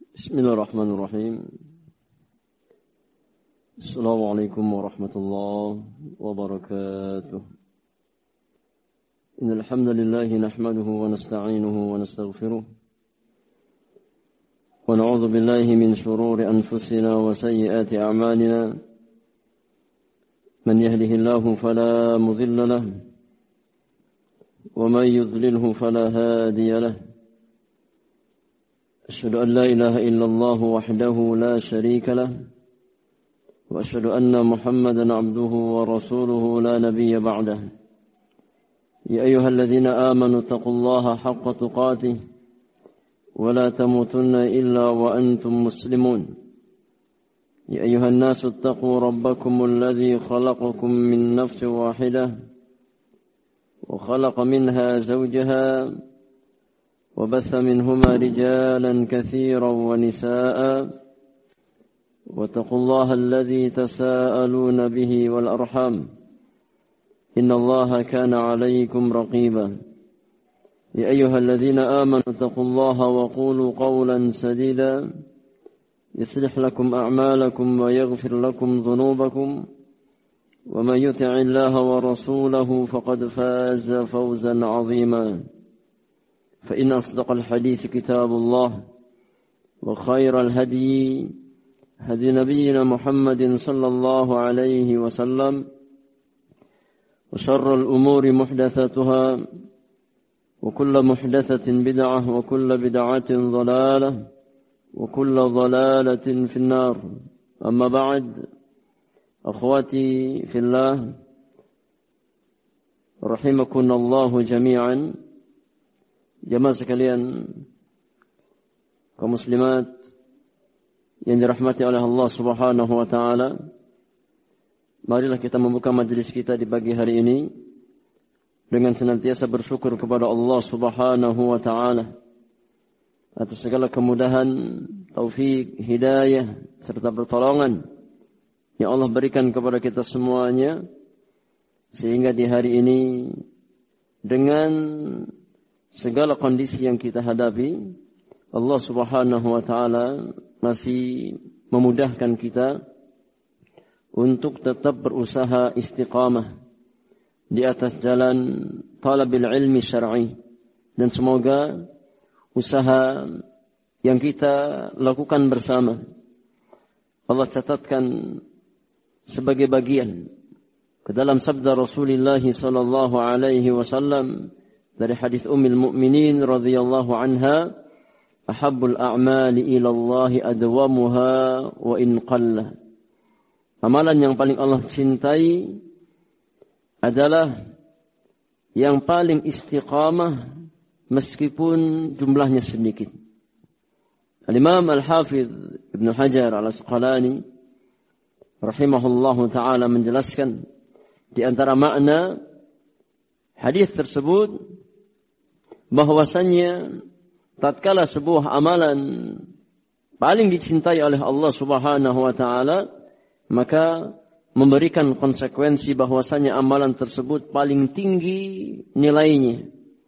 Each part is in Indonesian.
بسم الله الرحمن الرحيم. السلام عليكم ورحمة الله وبركاته. إن الحمد لله نحمده ونستعينه ونستغفره ونعوذ بالله من شرور أنفسنا وسيئات أعمالنا. من يهده الله فلا مضل له ومن يضلله فلا هادي له. أشهد أن لا إله إلا الله وحده لا شريك له وأشهد أن محمدا عبده ورسوله لا نبي بعده. يا أيها الذين آمنوا اتقوا الله حق تقاته ولا تموتن إلا وأنتم مسلمون. يا أيها الناس اتقوا ربكم الذي خلقكم من نفس واحدة وخلق منها زوجها وبث منهما رجالا كثيرا ونساء واتقوا الله الذي تساءلون به والأرحام إن الله كان عليكم رقيبا. يا أيها الذين آمنوا اتقوا الله وقولوا قولا سديدا يصلح لكم أعمالكم ويغفر لكم ذنوبكم ومن يطع الله ورسوله فقد فاز فوزا عظيما. فإن أصدق الحديث كتاب الله وخير الهدي هدي نبينا محمد صلى الله عليه وسلم وشر الأمور محدثاتها وكل محدثة بدعة وكل بدعة ضلالة وكل ضلالة في النار. أما بعد، أخواتي في الله رحمكم الله جميعا. Jamaah sekalian, kaum muslimat yang dirahmati oleh Allah Subhanahu wa taala, marilah kita membuka majelis kita di pagi hari ini dengan senantiasa bersyukur kepada Allah Subhanahu wa taala atas segala kemudahan, taufik, hidayah serta pertolongan yang Allah berikan kepada kita semuanya, sehingga di hari ini dengan segala kondisi yang kita hadapi, Allah Subhanahu wa taala masih memudahkan kita untuk tetap berusaha istiqamah di atas jalan talabil ilmi syar'i, dan semoga usaha yang kita lakukan bersama Allah catatkan sebagai bagian ke dalam sabda Rasulullah sallallahu alaihi wasallam dari hadis Ummul Mukminin radhiyallahu anha, ahabbul a'mali ila Allah adwamuha wa in qalla. Amalan yang paling Allah cintai adalah yang paling istiqamah meskipun jumlahnya sedikit. Al-Imam Al-Hafidh Ibnu Hajar Al-Asqalani rahimahullahu taala menjelaskan di antara makna hadis tersebut bahwasannya tatkala sebuah amalan paling dicintai oleh Allah Subhanahu wa taala, maka memberikan konsekuensi bahwasannya amalan tersebut paling tinggi nilainya,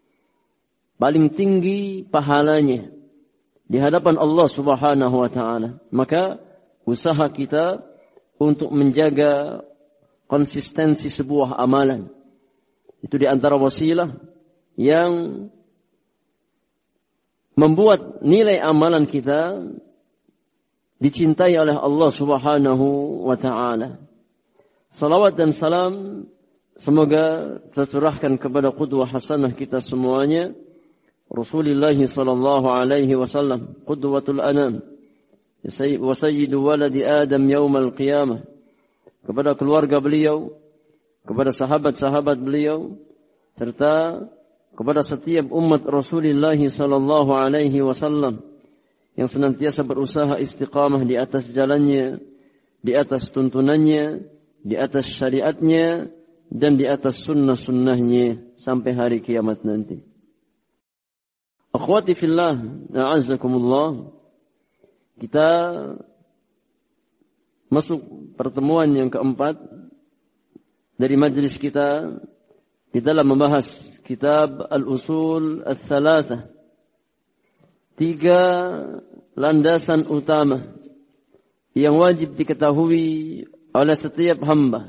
paling tinggi pahalanya di hadapan Allah Subhanahu wa taala. Maka usaha kita untuk menjaga konsistensi sebuah amalan itu di antara wasilah yang membuat nilai amalan kita dicintai oleh Allah Subhanahu wa taala. Salawat dan salam semoga tercurahkan kepada qudwah hasanah kita semuanya, Rasulullah sallallahu alaihi wasallam, qudwatul anam wa sayyidu waladi Adam yaumal qiyamah, kepada keluarga beliau, kepada sahabat-sahabat beliau, serta kepada setiap umat Rasulullah sallallahu alaihi wasallam yang senantiasa berusaha istiqamah di atas jalannya, di atas tuntunannya, di atas syariatnya, dan di atas sunnah-sunnahnya sampai hari kiamat nanti. Akhwati fillah, a'azzakumullah, kita masuk pertemuan yang keempat dari majelis kita di dalam membahas kitab Al-Usul Al-Thalathah, 3 landasan utama yang wajib diketahui oleh setiap hamba.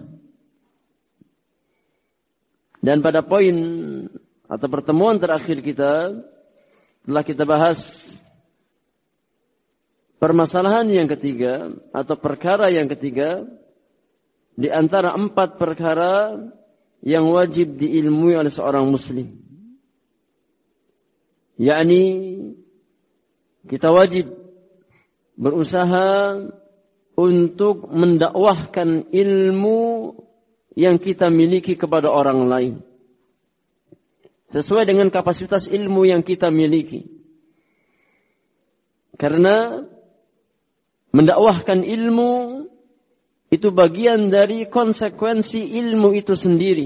Dan pada poin atau pertemuan terakhir kita telah kita bahas permasalahan yang ketiga atau perkara yang ketiga di antara 4 perkara yang wajib diilmui oleh seorang muslim. Yakni kita wajib berusaha untuk mendakwahkan ilmu yang kita miliki kepada orang lain sesuai dengan kapasitas ilmu yang kita miliki. Karena mendakwahkan ilmu itu bagian dari konsekuensi ilmu itu sendiri.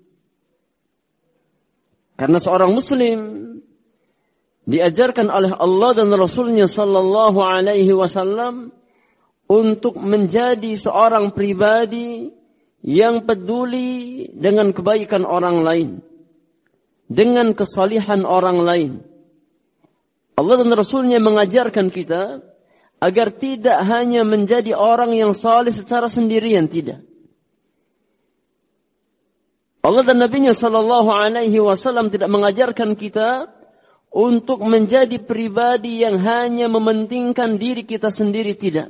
Karena seorang muslim diajarkan oleh Allah dan Rasulnya sallallahu alaihi wasallam untuk menjadi seorang pribadi yang peduli dengan kebaikan orang lain, dengan kesalihan orang lain. Allah dan Rasulnya mengajarkan kita agar tidak hanya menjadi orang yang saleh secara sendirian, tidak. Allah dan Nabi-Nya sallallahu alaihi wasallam tidak mengajarkan kita untuk menjadi pribadi yang hanya mementingkan diri kita sendiri, tidak.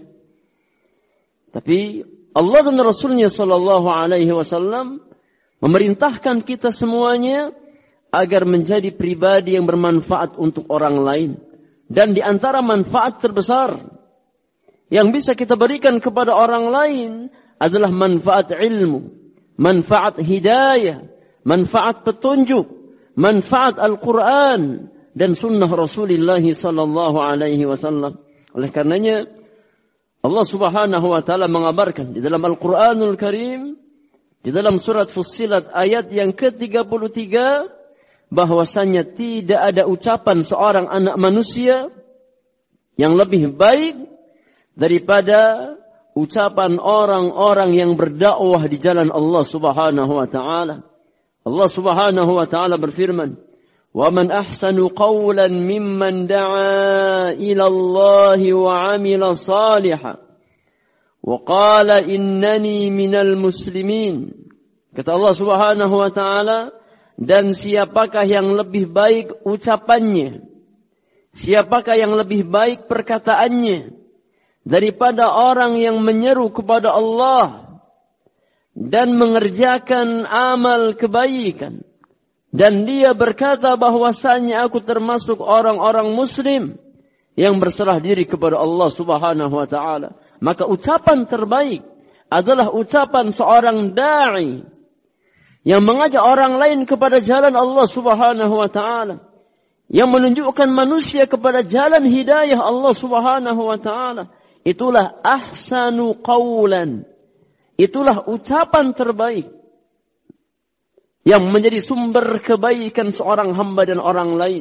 Tapi Allah dan Rasul-Nya sallallahu alaihi wasallam memerintahkan kita semuanya agar menjadi pribadi yang bermanfaat untuk orang lain. Dan di antara manfaat terbesar yang bisa kita berikan kepada orang lain adalah manfaat ilmu, manfaat hidayah, manfaat petunjuk, manfaat Al-Quran dan sunnah Rasulullah sallallahu alaihi wasallam. Oleh karenanya Allah Subhanahu wa taala mengabarkan di dalam Al-Qur'anul Karim, di dalam surat Fussilat ayat yang ke-33, bahwasanya tidak ada ucapan seorang anak manusia yang lebih baik daripada ucapan orang-orang yang berdakwah di jalan Allah Subhanahu wa taala. Allah Subhanahu wa taala berfirman, "Wa man ahsanu qawlan mimman da'a ila Allah wa 'amila salihan wa qala innani minal muslimin." Kata Allah Subhanahu wa taala, dan siapakah yang lebih baik ucapannya, siapakah yang lebih baik perkataannya daripada orang yang menyeru kepada Allah dan mengerjakan amal kebaikan, dan dia berkata bahwasanya aku termasuk orang-orang muslim yang berserah diri kepada Allah Subhanahu wa taala. Maka ucapan terbaik adalah ucapan seorang da'i yang mengajak orang lain kepada jalan Allah Subhanahu wa taala, yang menunjukkan manusia kepada jalan hidayah Allah Subhanahu wa taala. Itulah ahsanu qawlan. Itulah ucapan terbaik yang menjadi sumber kebaikan seorang hamba dan orang lain.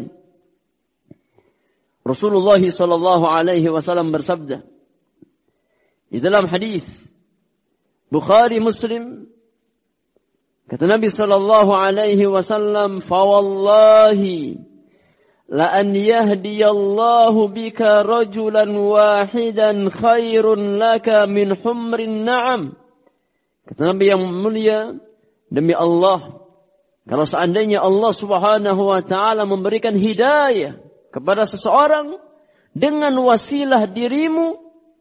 Rasulullah sallallahu alaihi wasallam bersabda di dalam hadis Bukhari Muslim, kata Nabi sallallahu alaihi wasallam, "Fa wallahi la an yahdiyallahu bika rajulan wahidan khairun laka min humrin na'am." Kata Nabi yang mulia, demi Allah, kalau seandainya Allah Subhanahu wa taala memberikan hidayah kepada seseorang dengan wasilah dirimu,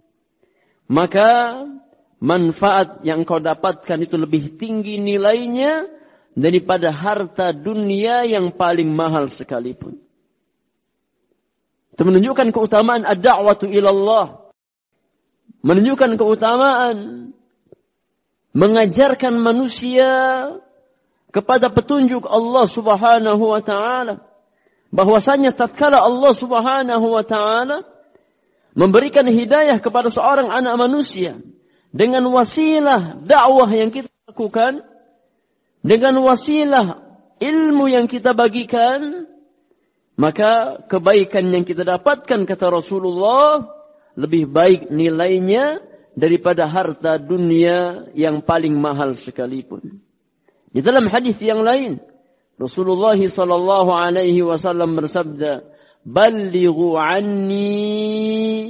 maka manfaat yang kau dapatkan itu lebih tinggi nilainya daripada harta dunia yang paling mahal sekalipun. Itu menunjukkan keutamaan ad-da'watu ilallah, menunjukkan keutamaan mengajarkan manusia kepada petunjuk Allah Subhanahu wa taala, bahwasanya tatkala Allah Subhanahu wa taala memberikan hidayah kepada seorang anak manusia dengan wasilah dakwah yang kita lakukan, dengan wasilah ilmu yang kita bagikan, maka kebaikan yang kita dapatkan, kata Rasulullah, lebih baik nilainya daripada harta dunia yang paling mahal sekalipun. Di dalam hadis yang lain, Rasulullah sallallahu alaihi wasallam bersabda, "Ballighu anni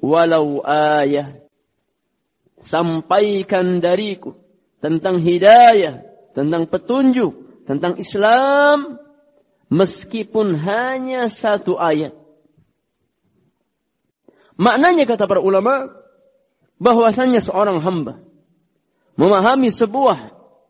walau ayah. Sampaikan dariku tentang hidayah, tentang petunjuk, tentang Islam, meskipun hanya satu ayat. Maknanya kata para ulama, bahwasanya seorang hamba memahami sebuah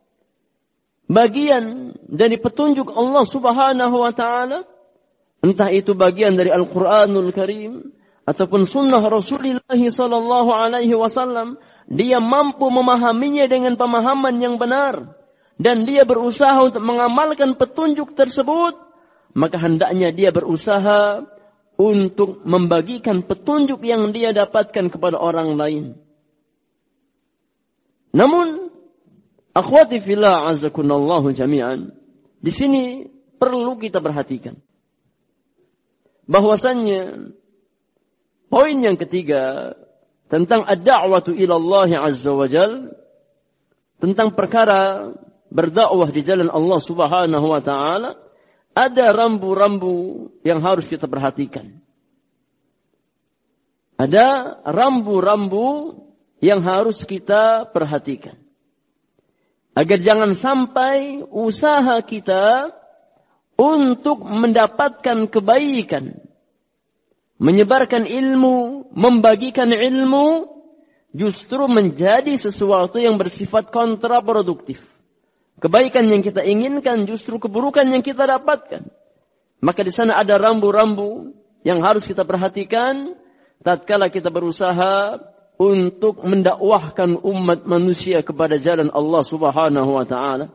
bagian dari petunjuk Allah Subhanahu wa taala, entah itu bagian dari Al-Qur'anul Karim ataupun sunnah Rasulullah sallallahu alaihi wasallam, dia mampu memahaminya dengan pemahaman yang benar dan dia berusaha untuk mengamalkan petunjuk tersebut, maka hendaknya dia berusaha untuk membagikan petunjuk yang dia dapatkan kepada orang lain. Namun, akhwati fillah azzakunallahu jami'an, di sini perlu kita perhatikan bahwasannya poin yang ketiga tentang ad-da'watu ila Allah azza wa jal, tentang perkara berdakwah di jalan Allah Subhanahu wa taala, ada rambu-rambu yang harus kita perhatikan. Ada rambu-rambu yang harus kita perhatikan. Agar jangan sampai usaha kita untuk mendapatkan kebaikan, menyebarkan ilmu, membagikan ilmu, justru menjadi sesuatu yang bersifat kontraproduktif. Kebaikan yang kita inginkan justru keburukan yang kita dapatkan. Maka di sana ada rambu-rambu yang harus kita perhatikan tatkala kita berusaha untuk mendakwahkan umat manusia kepada jalan Allah Subhanahu wa taala.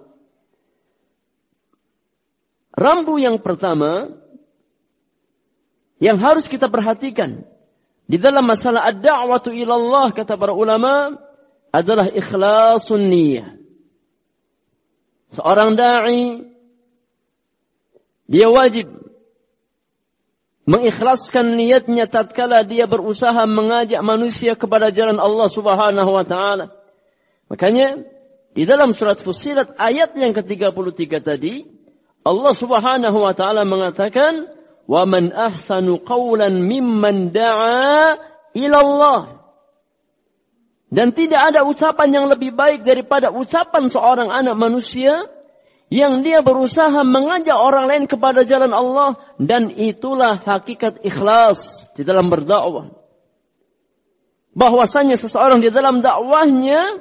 Rambu yang pertama yang harus kita perhatikan di dalam masalah ad-da'watu ila Allah, kata para ulama, adalah ikhlasun niyyah. Seorang da'i, dia wajib mengikhlaskan niatnya tatkala dia berusaha mengajak manusia kepada jalan Allah Subhanahu wa taala. Makanya di dalam surat Fussilat ayat yang ke-33 tadi, Allah Subhanahu wa taala mengatakan, "Wa man ahsanu qawlan mimman da'a ila Allah." Dan tidak ada ucapan yang lebih baik daripada ucapan seorang anak manusia yang dia berusaha mengajak orang lain kepada jalan Allah, dan itulah hakikat ikhlas di dalam berdakwah. Bahwasanya seseorang di dalam dakwahnya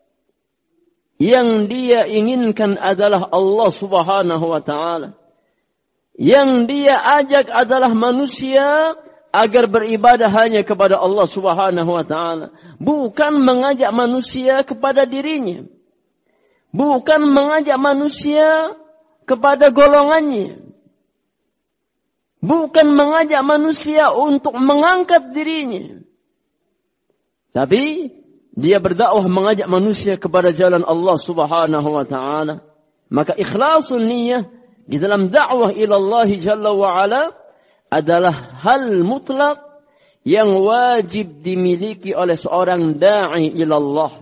yang dia inginkan adalah Allah Subhanahu wa taala. Yang dia ajak adalah manusia agar beribadah hanya kepada Allah Subhanahu wa taala, bukan mengajak manusia kepada dirinya, bukan mengajak manusia kepada golongannya, bukan mengajak manusia untuk mengangkat dirinya, tapi dia berdakwah mengajak manusia kepada jalan Allah Subhanahu wa taala. Maka ikhlasun niyyah di dalam dakwah ila Allah Jalla wa Ala adalah hal mutlak yang wajib dimiliki oleh seorang da'i ila Allah.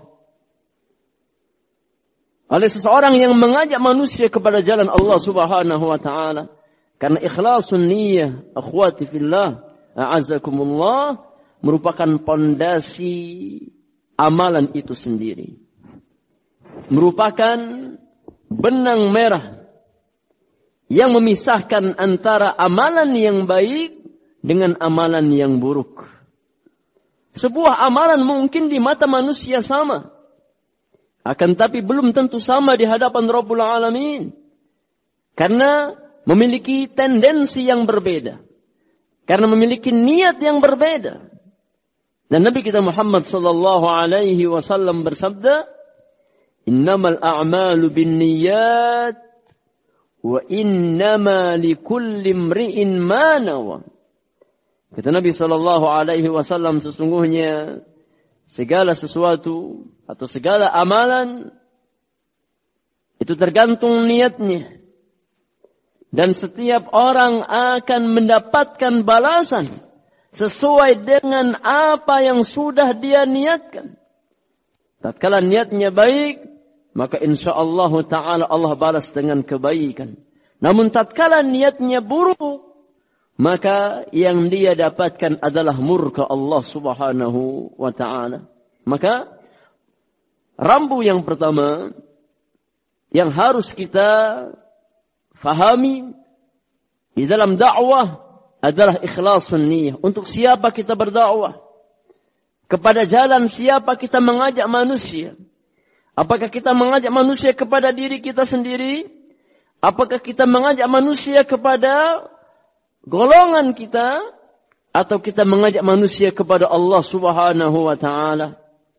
Oleh seseorang yang mengajak manusia kepada jalan Allah Subhanahu wa taala. Karena ikhlasun niyyah, akhwati fillah, a'azzakumullah, merupakan pondasi amalan itu sendiri. Merupakan benang merah yang memisahkan antara amalan yang baik dengan amalan yang buruk. Sebuah amalan mungkin di mata manusia sama, akan tapi belum tentu sama di hadapan Rabbul Alamin. Karena memiliki tendensi yang berbeda. Karena memiliki niat yang berbeda. Dan Nabi kita Muhammad sallallahu alaihi wasallam bersabda, "Innamal a'malu binniyat wa innama likulli imri'in ma nawa." Kata Nabi sallallahu alaihi wasallam, sesungguhnya segala sesuatu atau segala amalan itu tergantung niatnya. Dan setiap orang akan mendapatkan balasan sesuai dengan apa yang sudah dia niatkan. Tatkala niatnya baik, maka insyaallah ta'ala Allah balas dengan kebaikan. Namun tatkala niatnya buruk, maka yang dia dapatkan adalah murka Allah Subhanahu wa ta'ala. Maka rambu yang pertama yang harus kita fahami di dalam dakwah adalah ikhlasun niyah. Untuk siapa kita berdakwah? Kepada jalan siapa kita mengajak manusia? Apakah kita mengajak manusia kepada diri kita sendiri? Apakah kita mengajak manusia kepada golongan kita? Atau kita mengajak manusia kepada Allah Subhanahu wa ta'ala?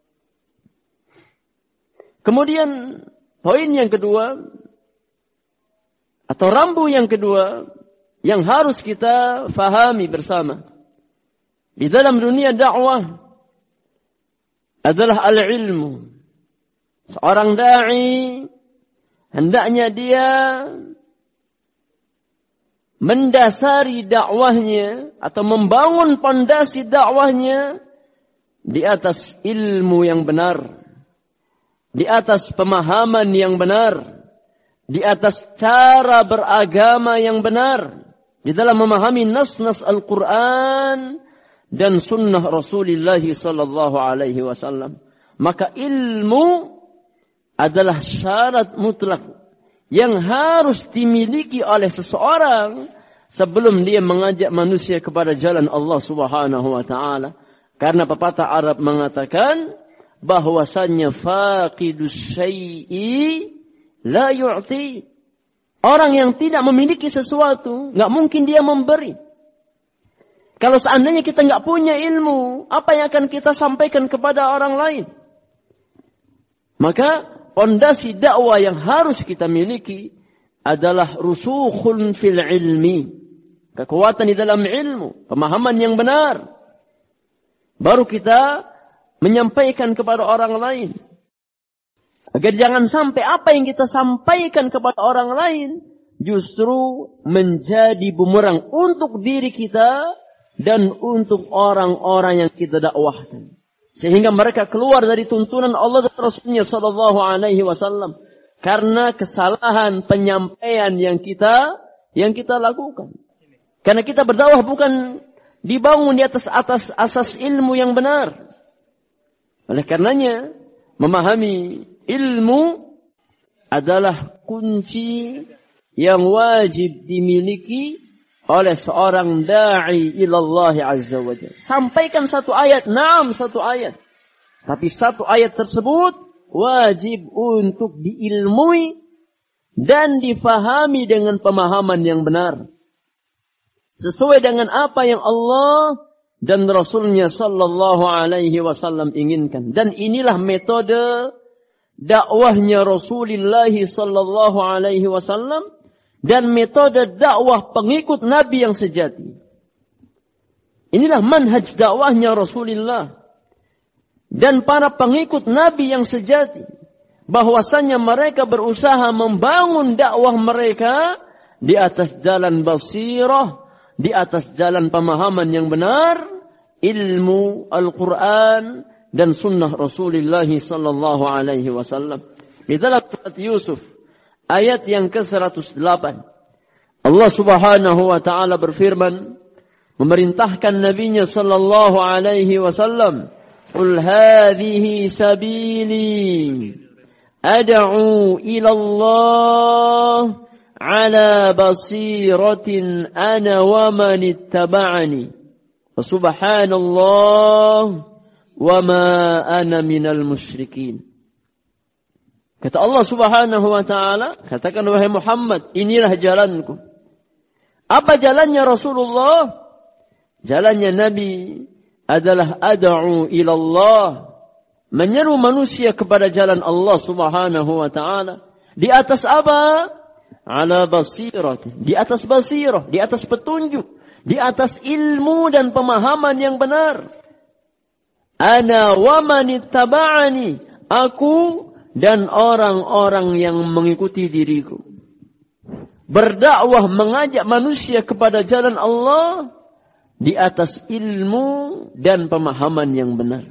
Kemudian poin yang kedua, atau rambu yang kedua, yang harus kita fahami bersama di dalam dunia dakwah adalah al-ilmu. Seorang da'i hendaknya dia mendasari dakwahnya atau membangun pondasi dakwahnya di atas ilmu yang benar, di atas pemahaman yang benar, di atas cara beragama yang benar, di dalam memahami nas-nas Al-Quran dan sunnah Rasulullah sallallahu alaihi wasallam. Maka ilmu adalah syarat mutlak yang harus dimiliki oleh seseorang sebelum dia mengajak manusia kepada jalan Allah Subhanahu wa ta'ala. Karena pepatah Arab mengatakan bahwasannya faqidus syai'i la yu'ti. Orang yang tidak memiliki sesuatu, nggak mungkin dia memberi. Kalau seandainya kita nggak punya ilmu, apa yang akan kita sampaikan kepada orang lain? Maka pondasi dakwah yang harus kita miliki adalah rusukhun fil ilmi. Kekuatan di dalam ilmu, pemahaman yang benar. Baru kita menyampaikan kepada orang lain. Agar jangan sampai apa yang kita sampaikan kepada orang lain justru menjadi bumerang untuk diri kita dan untuk orang-orang yang kita dakwahkan. Sehingga mereka keluar dari tuntunan Allah dan Rasulnya sallallahu alaihi wasallam. Karena kesalahan penyampaian yang kita lakukan. Karena kita berdakwah bukan dibangun di atas asas ilmu yang benar. Oleh karenanya, memahami ilmu adalah kunci yang wajib dimiliki oleh seorang da'i ilallah azza wa jalla. Sampaikan satu ayat, satu ayat. Tapi satu ayat tersebut wajib untuk diilmui dan difahami dengan pemahaman yang benar. Sesuai dengan apa yang Allah dan Rasulnya sallallahu alaihi wasallam inginkan. Dan inilah metode dakwahnya Rasulullah sallallahu alaihi wasallam dan metode dakwah pengikut Nabi yang sejati. Inilah manhaj dakwahnya Rasulullah dan para pengikut Nabi yang sejati. Bahwasannya mereka berusaha membangun dakwah mereka di atas jalan basirah, di atas jalan pemahaman yang benar, ilmu Al-Quran dan sunnah Rasulullah sallallahu alaihi wasallam. Di dalam surat Yusuf ayat yang ke-108 Allah Subhanahu wa ta'ala berfirman memerintahkan nabinya sallallahu alaihi wasallam, "Qul hadhihi sabili ad'u ila Allah ala basiratin ana wa man ittaba'ani wa subhanallah wa ma ana minal musyrikin." Kata Allah Subhanahu wa ta'ala, katakan wahai Muhammad, inilah jalanku. Apa jalannya Rasulullah? Jalannya Nabi adalah ad'u ilallah, menyeru manusia kepada jalan Allah Subhanahu wa ta'ala. Di atas apa? Ala basirah. Di atas basirah, di atas petunjuk, di atas ilmu dan pemahaman yang benar. Ana wa man ittaba'ani, aku dan orang-orang yang mengikuti diriku. Berdakwah mengajak manusia kepada jalan Allah di atas ilmu dan pemahaman yang benar.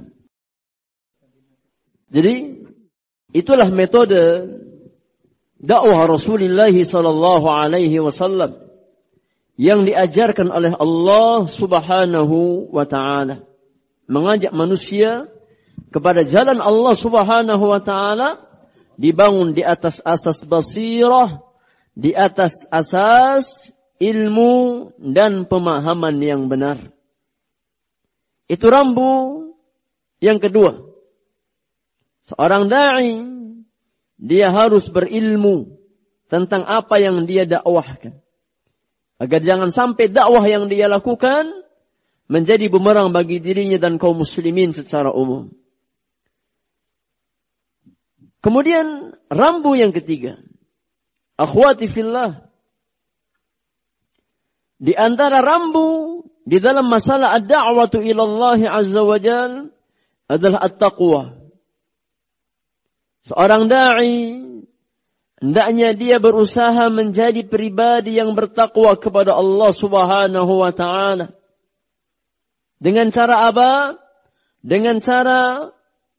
Jadi itulah metode dakwah Rasulullah sallallahu alaihi wasallam yang diajarkan oleh Allah Subhanahu wa ta'ala. Mengajak manusia kepada jalan Allah Subhanahu wa ta'ala dibangun di atas asas basirah, di atas asas ilmu dan pemahaman yang benar. Itu rambu yang kedua. Seorang da'i, dia harus berilmu tentang apa yang dia dakwahkan. Agar jangan sampai dakwah yang dia lakukan menjadi bumerang bagi dirinya dan kaum muslimin secara umum. Kemudian rambu yang ketiga. Akhwati fillah. Di antara rambu di dalam masalah ad-da'watu ila Allah azza wa jal adalah at-taqwa. Seorang da'i hendaknya dia berusaha menjadi pribadi yang bertakwa kepada Allah Subhanahu wa ta'ala. Dengan cara apa? Dengan cara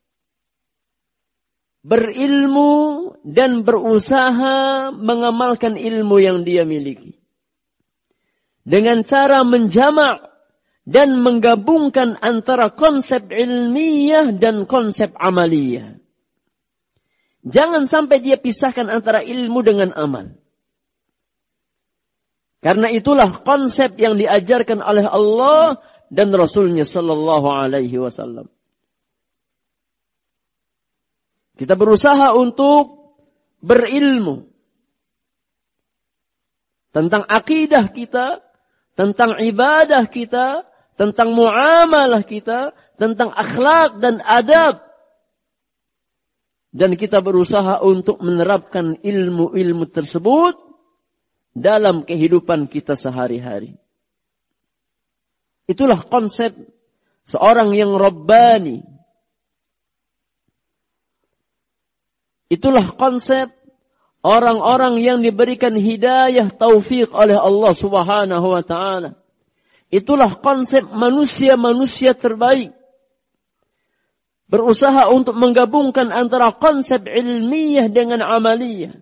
berilmu dan berusaha mengamalkan ilmu yang dia miliki. Dengan cara menjamak dan menggabungkan antara konsep ilmiah dan konsep amaliyah. Jangan sampai dia pisahkan antara ilmu dengan amal. Karena itulah konsep yang diajarkan oleh Allah dan Rasulnya sallallahu alaihi wasallam. Kita berusaha untuk berilmu tentang akidah kita, tentang ibadah kita, tentang muamalah kita, tentang akhlak dan adab. Dan kita berusaha untuk menerapkan ilmu-ilmu tersebut dalam kehidupan kita sehari-hari. Itulah konsep seorang yang Rabbani. Itulah konsep orang-orang yang diberikan hidayah taufik oleh Allah Subhanahu wa ta'ala. Itulah konsep manusia-manusia terbaik. Berusaha untuk menggabungkan antara konsep ilmiah dengan amaliyah.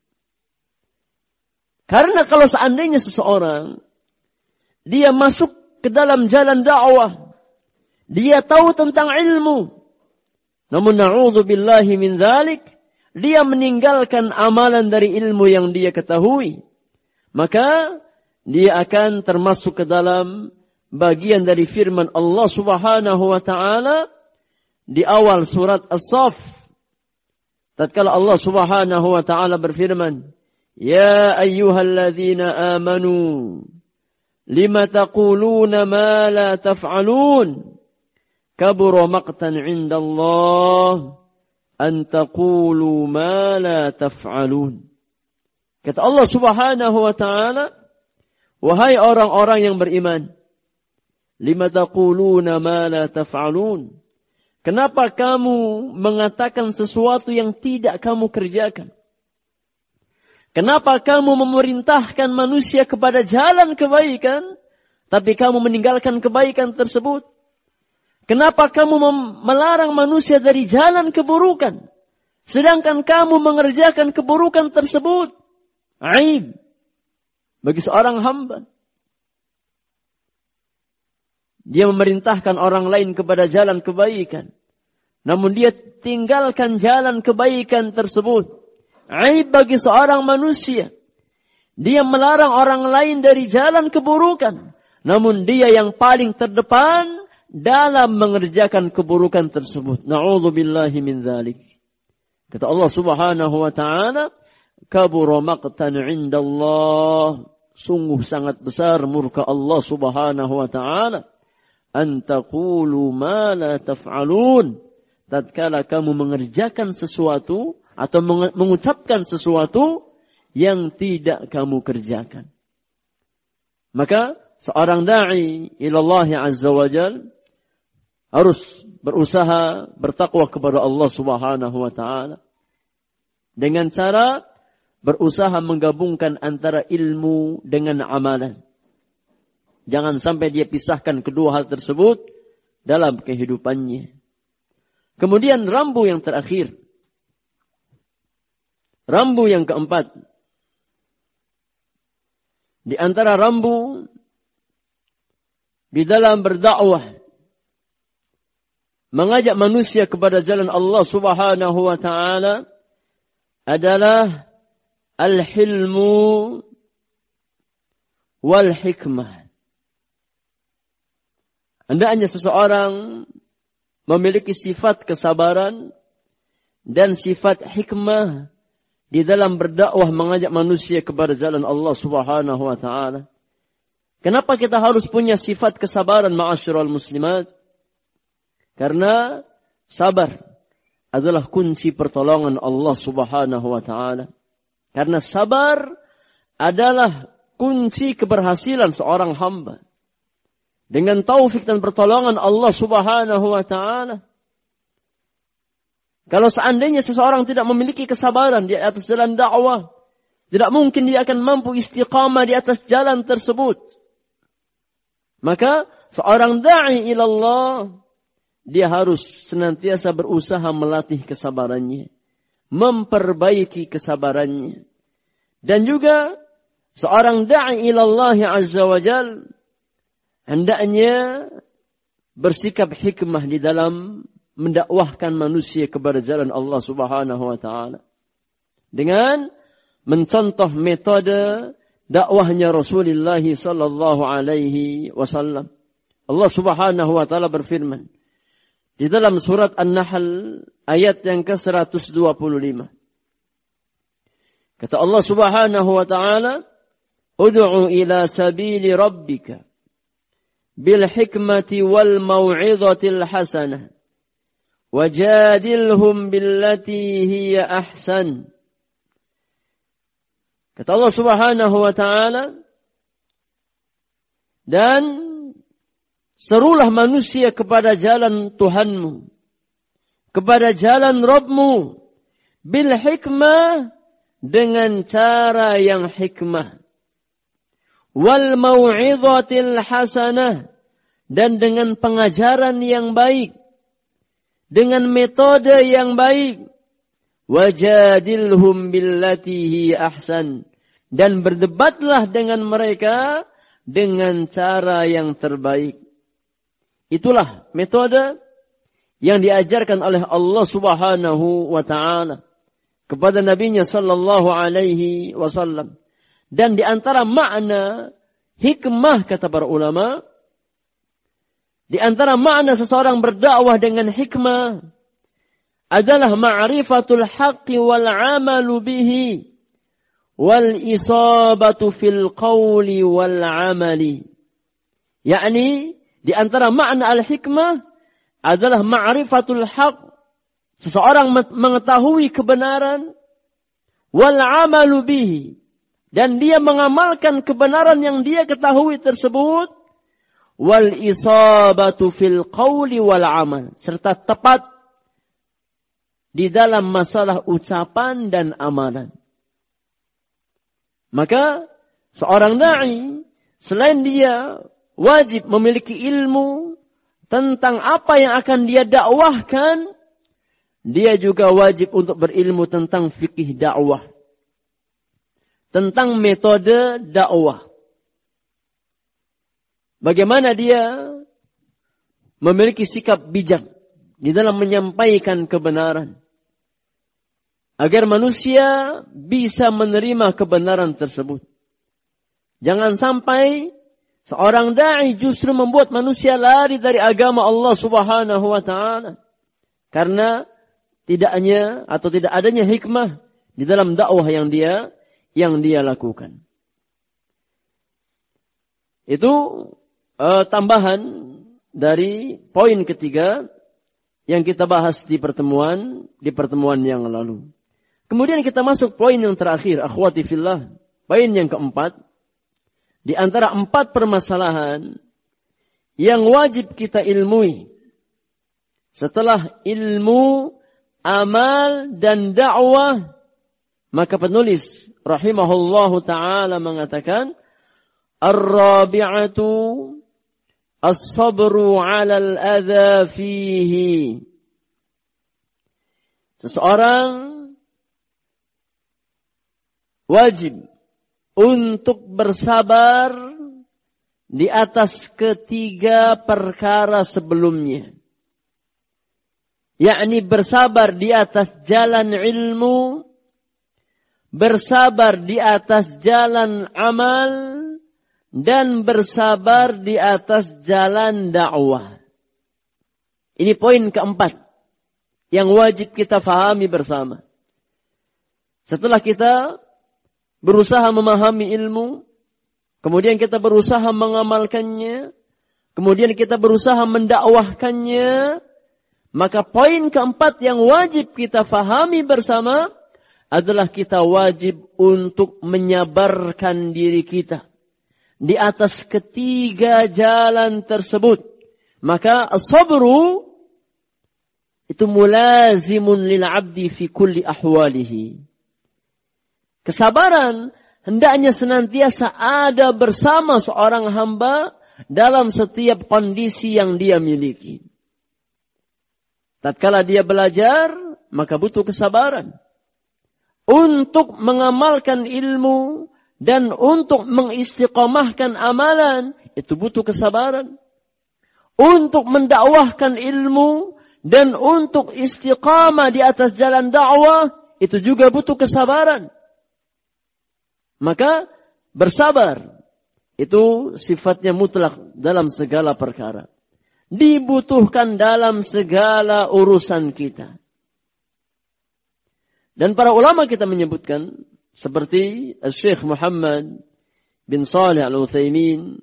Karena kalau seandainya seseorang dia masuk ke dalam jalan dakwah, dia tahu tentang ilmu, namun na'udzubillahi min dzalik, dia meninggalkan amalan dari ilmu yang dia ketahui, maka dia akan termasuk ke dalam bagian dari firman Allah Subhanahu wa ta'ala di awal surat As-Saff. Tatkala Allah Subhanahu wa ta'ala berfirman, Ya ayyuhalladzina amanu, lima taquluna ma la taf'alun, kabura maqtan 'inda Allah an taqulu ma la taf'alun. Kata Allah Subhanahu wa ta'ala, wahai orang-orang yang beriman, lima taquluna ma la taf'alun, kenapa kamu mengatakan sesuatu yang tidak kamu kerjakan? Kenapa kamu memerintahkan manusia kepada jalan kebaikan, tapi kamu meninggalkan kebaikan tersebut? Kenapa kamu melarang manusia dari jalan keburukan, sedangkan kamu mengerjakan keburukan tersebut? Aib bagi seorang hamba. Dia memerintahkan orang lain kepada jalan kebaikan, namun dia tinggalkan jalan kebaikan tersebut. Aib bagi seorang manusia. Dia melarang orang lain dari jalan keburukan, namun dia yang paling terdepan dalam mengerjakan keburukan tersebut. Na'udzubillahi min dzalik. Kata Allah Subhanahu wa ta'ala, kabura maqtan 'inda Allah, sungguh sangat besar murka Allah Subhanahu wa ta'ala, an taqulu ma la taf'alun, tatkala kamu mengerjakan sesuatu atau mengucapkan sesuatu yang tidak kamu kerjakan. Maka seorang da'i ila Allah azza wa jal harus berusaha bertakwa kepada Allah Subhanahu wa ta'ala dengan cara berusaha menggabungkan antara ilmu dengan amalan. Jangan sampai dia pisahkan kedua hal tersebut dalam kehidupannya. Kemudian rambu yang terakhir. Rambu yang keempat. di antara rambu di dalam berdakwah, mengajak manusia kepada jalan Allah Subhanahu wa taala adalah al-hilmu wal hikmah. Hendaknya seseorang memiliki sifat kesabaran dan sifat hikmah di dalam berdakwah mengajak manusia kepada jalan Allah Subhanahu wa taala. Kenapa kita harus punya sifat kesabaran ma'asyiral muslimat? Karena sabar adalah kunci pertolongan Allah Subhanahu wa taala. Karena sabar adalah kunci keberhasilan seorang hamba. Dengan taufik dan pertolongan Allah Subhanahu wa taala. Kalau seandainya seseorang tidak memiliki kesabaran di atas jalan dakwah, tidak mungkin dia akan mampu istiqamah di atas jalan tersebut. Maka seorang da'i ilallah, dia harus senantiasa berusaha melatih kesabarannya, memperbaiki kesabarannya. Dan juga seorang da'i ilallah azza wa jal hendaknya bersikap hikmah di dalam mendakwahkan manusia kepada jalan Allah Subhanahu wa taala. Dengan mencontoh metode dakwahnya Rasulullah sallallahu alaihi wasallam. Allah Subhanahu wa taala berfirman di dalam surat An-Nahl ayat yang ke-125. Kata Allah Subhanahu wa taala, "Ud'u ila sabili rabbika bil hikmati wal mau'izatil hasanah wajadilhum billati hiya ahsan." Kata Allah Subhanahu wa taala, dan serulah manusia kepada jalan Tuhanmu, kepada jalan Rabbmu, bil hikmah, dengan cara yang hikmah, wal mau'izatil hasanah, dan dengan pengajaran yang baik, dengan metode yang baik, wajadilhum billati hi ahsan, dan berdebatlah dengan mereka dengan cara yang terbaik. Itulah metode yang diajarkan oleh Allah Subhanahu wa taala kepada nabinya sallallahu alaihi wasallam. Dan di antara makna hikmah, kata para ulama, di antara makna seseorang berdakwah dengan hikmah adalah ma'rifatul haqqi wal 'amalu bihi wal isabatu fil qawli wal 'amali. Yakni di antara makna al-hikmah adalah ma'rifatul haqq, seseorang mengetahui kebenaran, wal 'amalu bihi, dan dia mengamalkan kebenaran yang dia ketahui tersebut, wal isabatu fil qawli wal 'amal, serta tepat di dalam masalah ucapan dan amalan. Maka seorang da'i, selain dia wajib memiliki ilmu tentang apa yang akan dia dakwahkan, dia juga wajib untuk berilmu tentang fikih dakwah, tentang metode dakwah. Bagaimana dia memiliki sikap bijak di dalam menyampaikan kebenaran, agar manusia bisa menerima kebenaran tersebut. Jangan sampai seorang da'i justru membuat manusia lari dari agama Allah Subhanahu wa taala karena tidak adanya hikmah di dalam dakwah yang dia lakukan. Itu tambahan dari poin ketiga yang kita bahas di pertemuan yang lalu. Kemudian kita masuk poin yang terakhir, akhwati fillah. Poin yang keempat, di antara 4 permasalahan yang wajib kita ilmui setelah ilmu, amal, dan dakwah, maka penulis rahimahullahu ta'ala mengatakan, ar-rabi'atu as-sabru 'alal adza fihi. Seseorang wajib untuk bersabar di atas ketiga perkara sebelumnya. Yakni bersabar di atas jalan ilmu, bersabar di atas jalan amal, dan bersabar di atas jalan dakwah. Ini poin keempat yang wajib kita fahami bersama. Setelah kita berusaha memahami ilmu, kemudian kita berusaha mengamalkannya, kemudian kita berusaha mendakwahkannya, maka poin keempat yang wajib kita fahami bersama adalah kita wajib untuk menyabarkan diri kita di atas ketiga jalan tersebut. Maka as-sabru itu mulazimun lil 'abdi fi kulli ahwalihi. Kesabaran hendaknya senantiasa ada bersama seorang hamba dalam setiap kondisi yang dia miliki. Tatkala dia belajar, maka butuh kesabaran. Untuk mengamalkan ilmu dan untuk mengistiqamahkan amalan, itu butuh kesabaran. Untuk mendakwahkan ilmu dan untuk istiqamah di atas jalan dakwah, itu juga butuh kesabaran. Maka bersabar itu sifatnya mutlak dalam segala perkara. Dibutuhkan dalam segala urusan kita. Dan para ulama kita menyebutkan seperti Syekh Muhammad bin Shalih Al-Utsaimin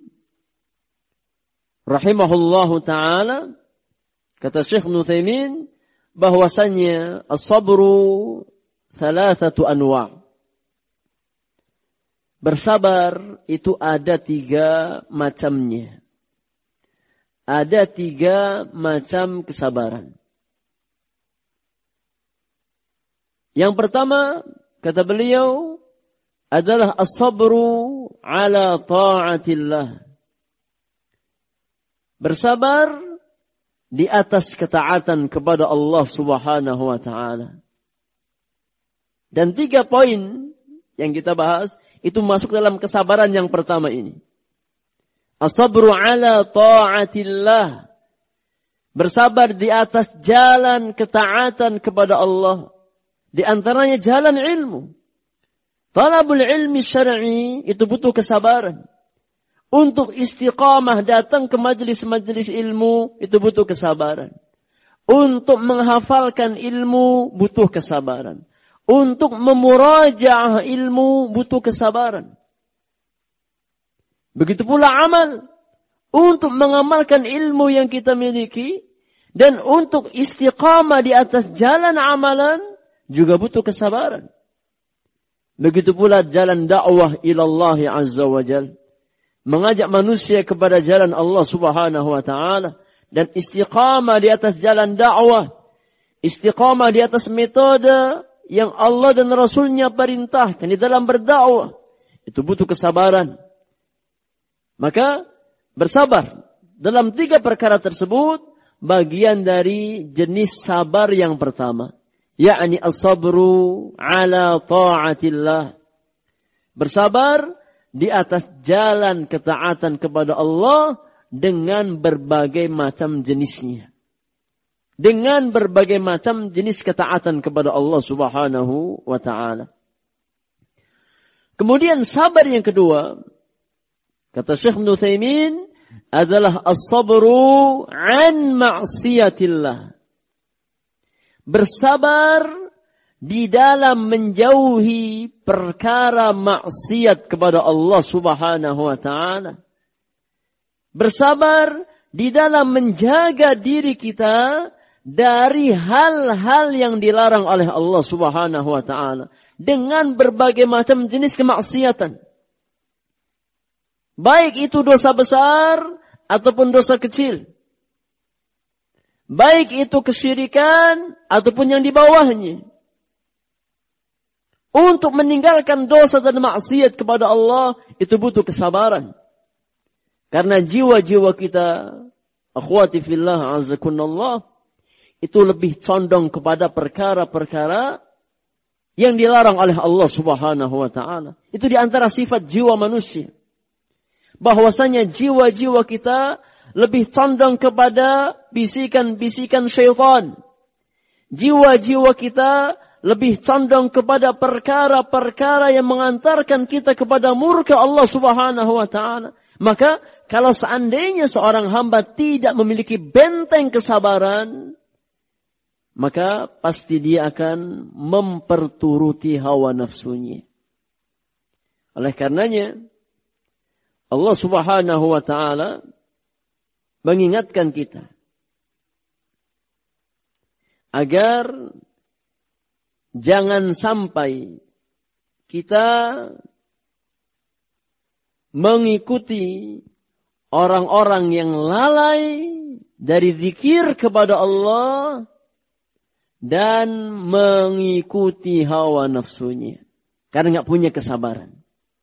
rahimahullahu ta'ala, kata Syekh Utsaimin bahwasannya as-sabru thalathatu anwa'. Bersabar itu ada 3 macamnya. Ada 3 macam kesabaran. Yang pertama, kata beliau, adalah as-sabru ala ta'atillah. Bersabar di atas ketaatan kepada Allah Subhanahu wa ta'ala. Dan 3 poin yang kita bahas, itu masuk dalam kesabaran yang pertama ini. As-sabru ala ta'atillah. Bersabar di atas jalan ketaatan kepada Allah. Di antaranya jalan ilmu. Talabul ilmi syar'i itu butuh kesabaran. Untuk istiqamah datang ke majelis-majelis ilmu itu butuh kesabaran. Untuk menghafalkan ilmu butuh kesabaran. Untuk memurajaah ilmu butuh kesabaran. Begitu pula amal. Untuk mengamalkan ilmu yang kita miliki. Dan untuk istiqamah di atas jalan amalan juga butuh kesabaran. Begitu pula jalan dakwah ilallahi azza wa jal. Mengajak manusia kepada jalan Allah Subhanahu wa ta'ala. Dan istiqamah di atas jalan dakwah. Istiqamah di atas metode yang Allah dan Rasulnya perintahkan di dalam berdakwah. Itu butuh kesabaran. Maka bersabar dalam 3 perkara tersebut bagian dari jenis sabar yang pertama. Yakni as-sabru ala ta'atillah. Bersabar di atas jalan ketaatan kepada Allah dengan berbagai macam jenisnya. Dengan berbagai macam jenis ketaatan kepada Allah Subhanahu wa ta'ala. Kemudian sabar yang kedua, kata Syekh Utsaimin, adalah as-sabru an ma'siyatillah. Bersabar di dalam menjauhi perkara maksiat kepada Allah Subhanahu wa ta'ala. Bersabar di dalam menjaga diri kita dari hal-hal yang dilarang oleh Allah Subhanahu wa ta'ala. Dengan berbagai macam jenis kemaksiatan. Baik itu dosa besar ataupun dosa kecil. Baik itu kesyirikan ataupun yang di bawahnya. Untuk meninggalkan dosa dan maksiat kepada Allah, itu butuh kesabaran. Karena jiwa-jiwa kita, akhwati fillah azakunallah, itu lebih condong kepada perkara-perkara yang dilarang oleh Allah Subhanahu wa ta'ala. Itu di antara sifat jiwa manusia. Bahwasanya jiwa-jiwa kita lebih condong kepada bisikan-bisikan syaitan. Jiwa-jiwa kita lebih condong kepada perkara-perkara yang mengantarkan kita kepada murka Allah Subhanahu wa ta'ala. Maka kalau seandainya seorang hamba tidak memiliki benteng kesabaran, maka pasti dia akan memperturuti hawa nafsunya. Oleh karenanya, Allah Subhanahu wa ta'ala mengingatkan kita agar jangan sampai kita mengikuti orang-orang yang lalai dari zikir kepada Allah dan mengikuti hawa nafsunya karena nggak punya kesabaran.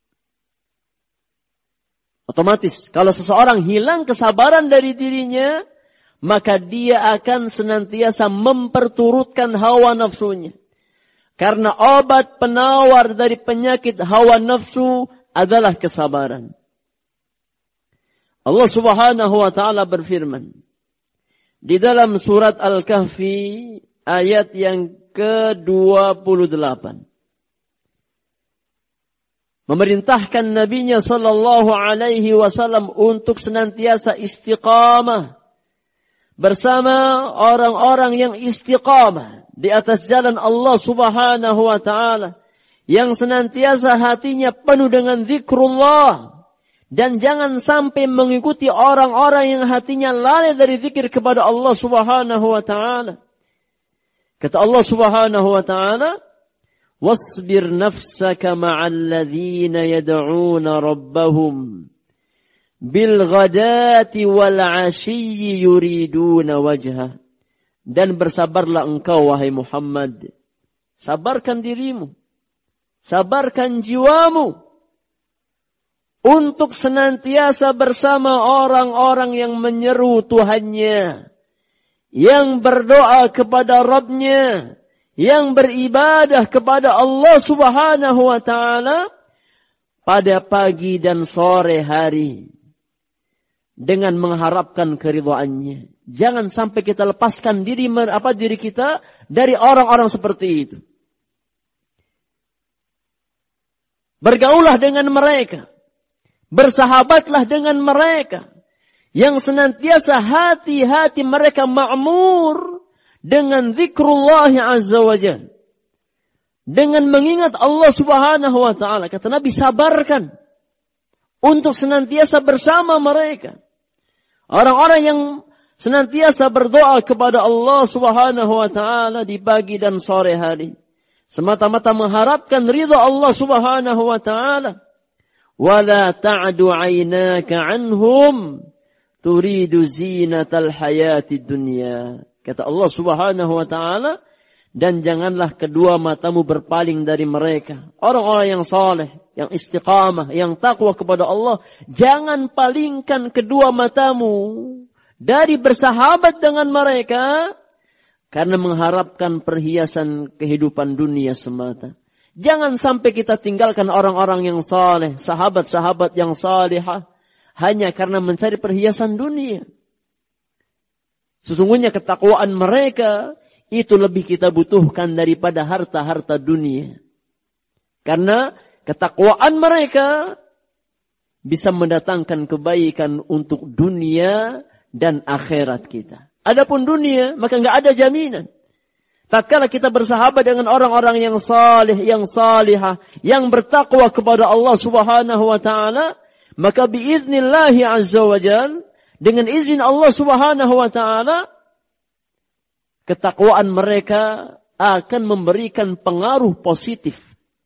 Otomatis kalau seseorang hilang kesabaran dari dirinya, maka dia akan senantiasa memperturutkan hawa nafsunya. Karena obat penawar dari penyakit hawa nafsu adalah kesabaran. Allah Subhanahu wa ta'ala berfirman di dalam surat Al-Kahfi ayat yang ke-28. Memerintahkan nabinya sallallahu alaihi wasallam untuk senantiasa istiqamah bersama orang-orang yang istiqamah di atas jalan Allah Subhanahu wa ta'ala, yang senantiasa hatinya penuh dengan zikrullah, dan jangan sampai mengikuti orang-orang yang hatinya lalai dari zikir kepada Allah Subhanahu wa ta'ala. Kata Allah Subhanahu wa ta'ala, wasbir nafsaka ma'al ladzina yad'una rabbahum bil ghadati wal 'ashiyyi yuriduna wajha. Dan bersabarlah engkau wahai Muhammad. Sabarkan dirimu, sabarkan jiwamu untuk senantiasa bersama orang-orang yang menyeru Tuhannya, yang berdoa kepada Rabbnya, yang beribadah kepada Allah Subhanahu wa ta'ala pada pagi dan sore hari dengan mengharapkan keridhaannya. Jangan sampai kita lepaskan diri kita dari orang-orang seperti itu. Bergaulah dengan mereka, bersahabatlah dengan mereka yang senantiasa hati-hati mereka ma'mur dengan zikrullah azza wa jalla, dengan mengingat Allah Subhanahu wa ta'ala. Kata Nabi, sabarkan untuk senantiasa bersama mereka. Orang-orang yang senantiasa berdoa kepada Allah Subhanahu wa ta'ala di pagi dan sore hari, semata-mata mengharapkan ridha Allah Subhanahu wa ta'ala. Wala ta'du 'ainaka 'anhum turidu zinatal hayatid dunya. Kata Allah Subhanahu wa ta'ala, dan janganlah kedua matamu berpaling dari mereka. Orang-orang yang saleh, yang istiqamah, yang takwa kepada Allah, jangan palingkan kedua matamu dari bersahabat dengan mereka karena mengharapkan perhiasan kehidupan dunia semata. Jangan sampai kita tinggalkan orang-orang yang saleh, sahabat-sahabat yang salihah, hanya karena mencari perhiasan dunia. Sesungguhnya ketakwaan mereka itu lebih kita butuhkan daripada harta-harta dunia. Karena ketakwaan mereka bisa mendatangkan kebaikan untuk dunia dan akhirat kita. Adapun dunia, maka enggak ada jaminan. Tatkala kita bersahabat dengan orang-orang yang salih, yang salihah, yang bertakwa kepada Allah Subhanahu wa ta'ala, maka biiznillahi azza wa jalla, dengan izin Allah Subhanahu wa ta'ala, ketakwaan mereka akan memberikan pengaruh positif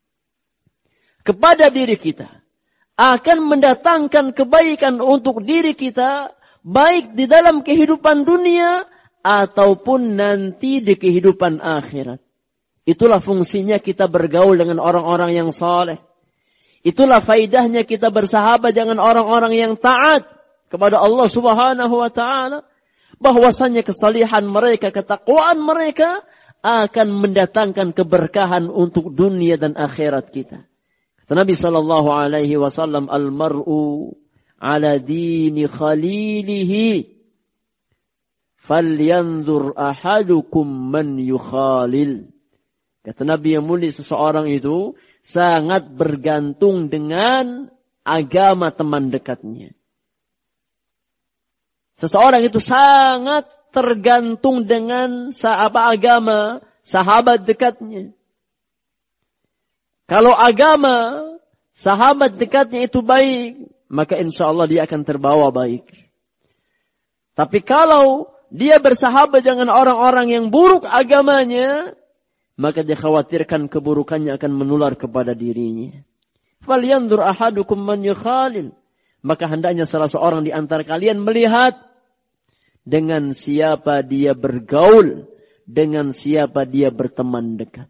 kepada diri kita, akan mendatangkan kebaikan untuk diri kita, baik di dalam kehidupan dunia ataupun nanti di kehidupan akhirat. Itulah fungsinya kita bergaul dengan orang-orang yang saleh. Itulah faidahnya kita bersahabat dengan orang-orang yang taat kepada Allah Subhanahu wa ta'ala. Bahwasanya kesalihan mereka, ketakwaan mereka akan mendatangkan keberkahan untuk dunia dan akhirat kita. Kata Nabi sallallahu alaihi wasallam, al-mar'u ala dini khalilihi falyanzur ahadukum man yukhalil. Kata Nabi yang mulia, seseorang itu sangat bergantung dengan agama teman dekatnya. Seseorang itu sangat tergantung dengan agama sahabat dekatnya. Kalau agama sahabat dekatnya itu baik, maka insya Allah dia akan terbawa baik. Tapi kalau dia bersahabat dengan orang-orang yang buruk agamanya, maka dikhawatirkan keburukannya akan menular kepada dirinya. Falyanzur ahadukum man yukhalil. Maka hendaknya salah seorang di antara kalian melihat dengan siapa dia bergaul, dengan siapa dia berteman dekat.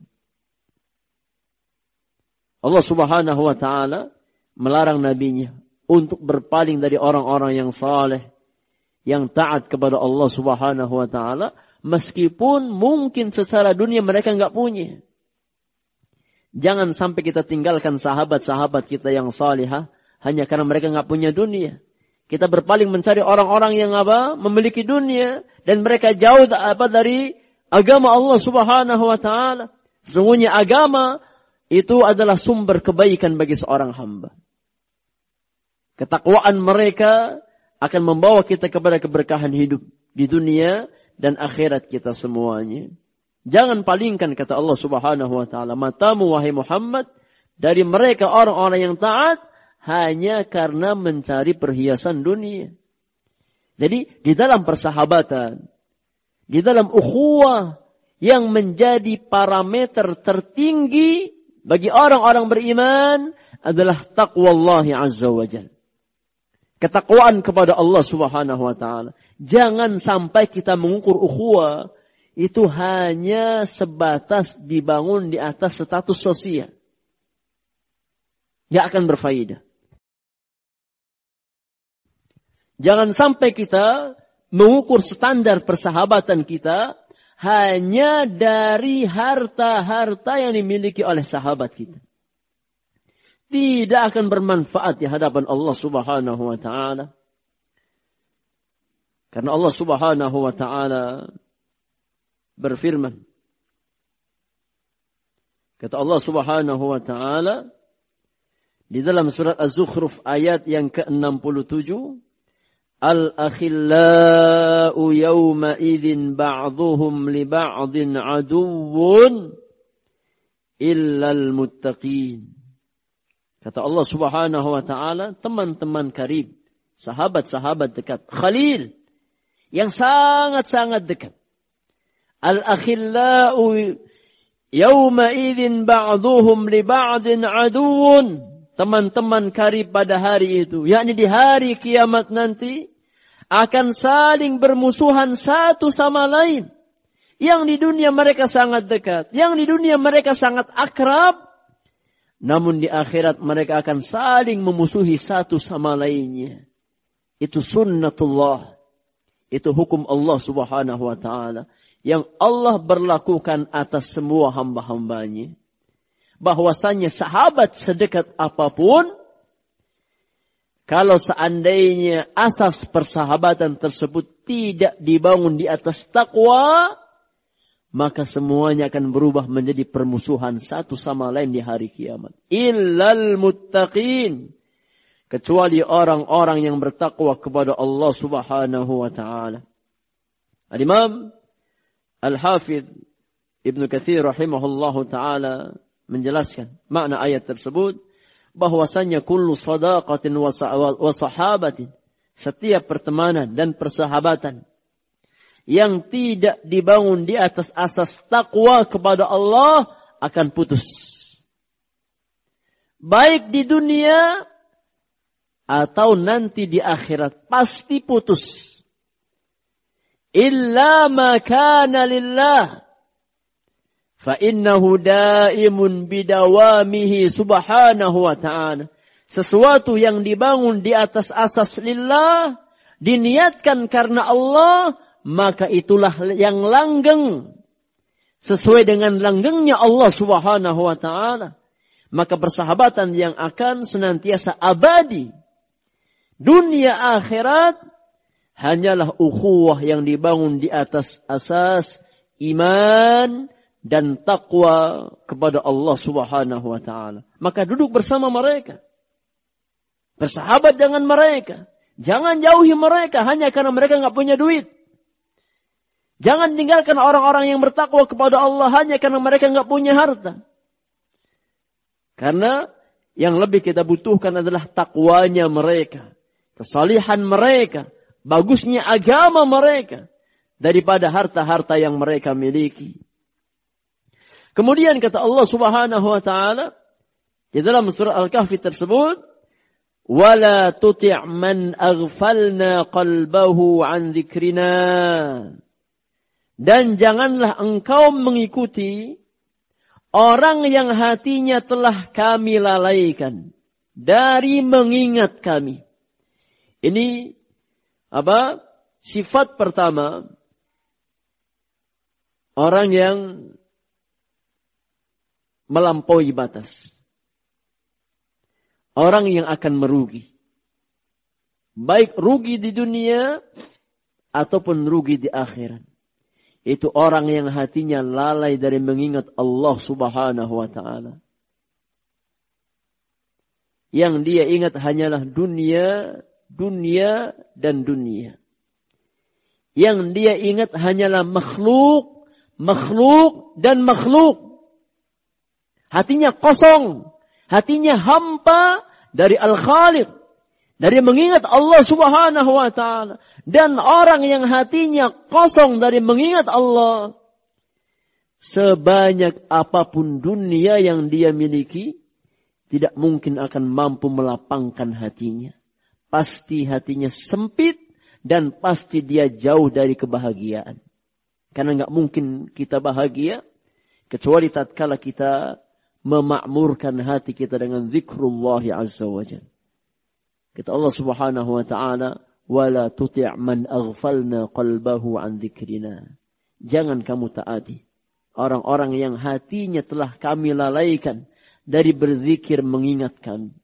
Allah Subhanahu wa taala melarang nabinya untuk berpaling dari orang-orang yang saleh, yang taat kepada Allah Subhanahu wa taala, meskipun mungkin secara dunia mereka enggak punya. Jangan sampai kita tinggalkan sahabat-sahabat kita yang salihah hanya karena mereka enggak punya dunia. Kita berpaling mencari orang-orang yang memiliki dunia dan mereka jauh dari agama Allah Subhanahu wa taala. Sesungguhnya agama itu adalah sumber kebaikan bagi seorang hamba. Ketakwaan mereka akan membawa kita kepada keberkahan hidup di dunia dan akhirat kita semuanya. Jangan palingkan, kata Allah Subhanahu wa taala, matamu wahai Muhammad dari mereka orang-orang yang taat hanya karena mencari perhiasan dunia. Jadi di dalam persahabatan, di dalam ukhuwah yang menjadi parameter tertinggi bagi orang-orang beriman adalah taqwallahi azza wa jalla. Ketakwaan kepada Allah Subhanahu wa taala. Jangan sampai kita mengukur ukhuwah itu hanya sebatas dibangun di atas status sosial. Tidak akan berfaedah. Jangan sampai kita mengukur standar persahabatan kita hanya dari harta-harta yang dimiliki oleh sahabat kita. Tidak akan bermanfaat di hadapan Allah Subhanahu wa taala. Karena Allah Subhanahu wa taala berfirman. Kata Allah Subhanahu wa taala di dalam surat Az-Zukhruf ayat yang ke-67, Al-akhillau yawma idzin ba'dhuhum li ba'dhin aduwwun illal muttaqin. Kata Allah Subhanahu wa taala, teman-teman karib, sahabat-sahabat dekat, khalil yang sangat-sangat dekat. Al-akhillau yawma idzin ba'dhuhum li ba'dhin aduwwun. Teman-teman karib pada hari itu, yakni di hari kiamat nanti, akan saling bermusuhan satu sama lain. Yang di dunia mereka sangat dekat, yang di dunia mereka sangat akrab, namun di akhirat mereka akan saling memusuhi satu sama lainnya. Itu sunnatullah. Itu hukum Allah Subhanahu wa ta'ala. Yang Allah berlakukan atas semua hamba-hambanya. Bahwasannya sahabat sedekat apapun, kalau seandainya asas persahabatan tersebut tidak dibangun di atas takwa, maka semuanya akan berubah menjadi permusuhan satu sama lain di hari kiamat. Illal muttaqin. Kecuali orang-orang yang bertakwa kepada Allah Subhanahu wa ta'ala. Al-Imam Al-Hafidh Ibn Katsir rahimahullahu ta'ala menjelaskan makna ayat tersebut, bahwasanya kullu sadaqatin wa sahabatin, setiap pertemanan dan persahabatan yang tidak dibangun di atas asas takwa kepada Allah akan putus. Baik di dunia atau nanti di akhirat pasti putus. Illa ma kana lillah fa innahu daimun bidawamihi subhanahu wa ta'ala. Sesuatu yang dibangun di atas asas lillah, diniatkan karena Allah, maka itulah yang langgeng sesuai dengan langgengnya Allah Subhanahu wa taala, maka persahabatan yang akan senantiasa abadi dunia akhirat hanyalah ukhuwah yang dibangun di atas asas iman dan takwa kepada Allah Subhanahu wa taala. Maka duduk bersama mereka, bersahabat dengan mereka, jangan jauhi mereka hanya karena mereka enggak punya duit. Jangan tinggalkan orang-orang yang bertakwa kepada Allah hanya karena mereka enggak punya harta. Karena yang lebih kita butuhkan adalah takwanya mereka, kesalihan mereka, bagusnya agama mereka daripada harta-harta yang mereka miliki. Kemudian kata Allah Subhanahu wa taala di dalam surah Al-Kahfi tersebut, "Wala tuti' man aghfalna qalbahu 'an dzikrina." Dan janganlah engkau mengikuti orang yang hatinya telah kami lalaikan dari mengingat kami. Ini apa? Sifat pertama orang yang melampaui batas. Orang yang akan merugi. Baik rugi di dunia ataupun rugi di akhirat. Itu orang yang hatinya lalai dari mengingat Allah Subhanahu wa taala. Yang dia ingat hanyalah dunia, dunia dan dunia. Yang dia ingat hanyalah makhluk, makhluk dan makhluk. Hatinya kosong, hatinya hampa dari Al-Khaliq, dari mengingat Allah Subhanahu wa taala. Dan orang yang hatinya kosong dari mengingat Allah, sebanyak apapun dunia yang dia miliki, tidak mungkin akan mampu melapangkan hatinya. Pasti hatinya sempit dan pasti dia jauh dari kebahagiaan. Karena nggak mungkin kita bahagia kecuali tatkala kita memakmurkan hati kita dengan zikrullah azza wa jalla. Kata Allah Subhanahu wa taala, "Wala tuti' man aghfalna qalbahu 'an dzikrina." Jangan kamu taati orang-orang yang hatinya telah kami lalaikan dari berzikir mengingat kami.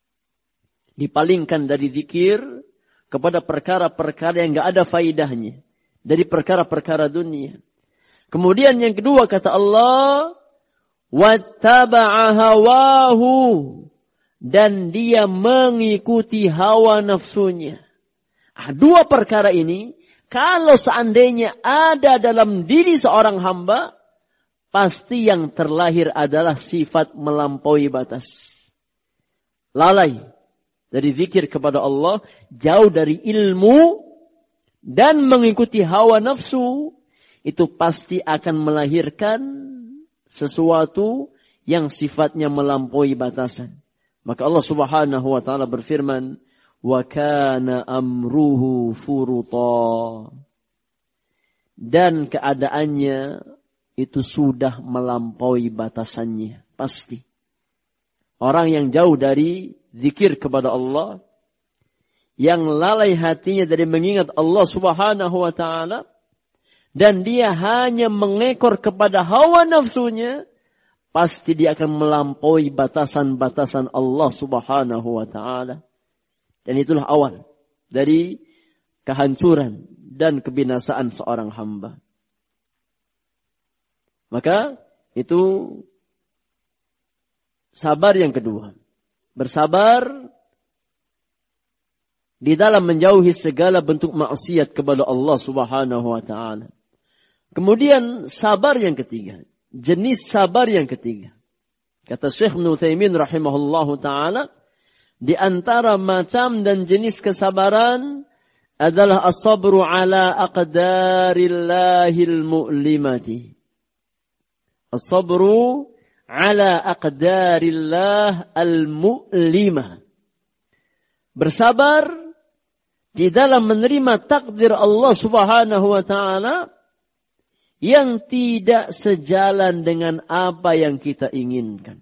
Dipalingkan dari zikir kepada perkara-perkara yang enggak ada faidahnya, dari perkara-perkara dunia. Kemudian yang kedua kata Allah, "Wattaba'a hawahu." Dan dia mengikuti hawa nafsunya. Dua perkara ini, kalau seandainya ada dalam diri seorang hamba, pasti yang terlahir adalah sifat melampaui batas. Lalai dari zikir kepada Allah, jauh dari ilmu, dan mengikuti hawa nafsu, itu pasti akan melahirkan sesuatu yang sifatnya melampaui batasan. Maka Allah Subhanahu wa taala berfirman, "Wa kana amruhu furuta." Dan keadaannya itu sudah melampaui batasannya, pasti. Orang yang jauh dari zikir kepada Allah, yang lalai hatinya dari mengingat Allah Subhanahu wa taala, dan dia hanya mengekor kepada hawa nafsunya, pasti dia akan melampaui batasan-batasan Allah Subhanahu wa taala. Dan itulah awal dari kehancuran dan kebinasaan seorang hamba. Maka itu sabar yang kedua. Bersabar di dalam menjauhi segala bentuk maksiat kepada Allah Subhanahu wa taala. Kemudian sabar yang ketiga. Jenis sabar yang ketiga. Kata Syekh Ibnu Utsaimin rahimahullahu taala, di antara macam dan jenis kesabaran adalah as-sabru ala aqdarillahil mu'limati. As-sabru ala aqdarillah al-mu'limah. Bersabar di dalam menerima takdir Allah Subhanahu wa taala yang tidak sejalan dengan apa yang kita inginkan.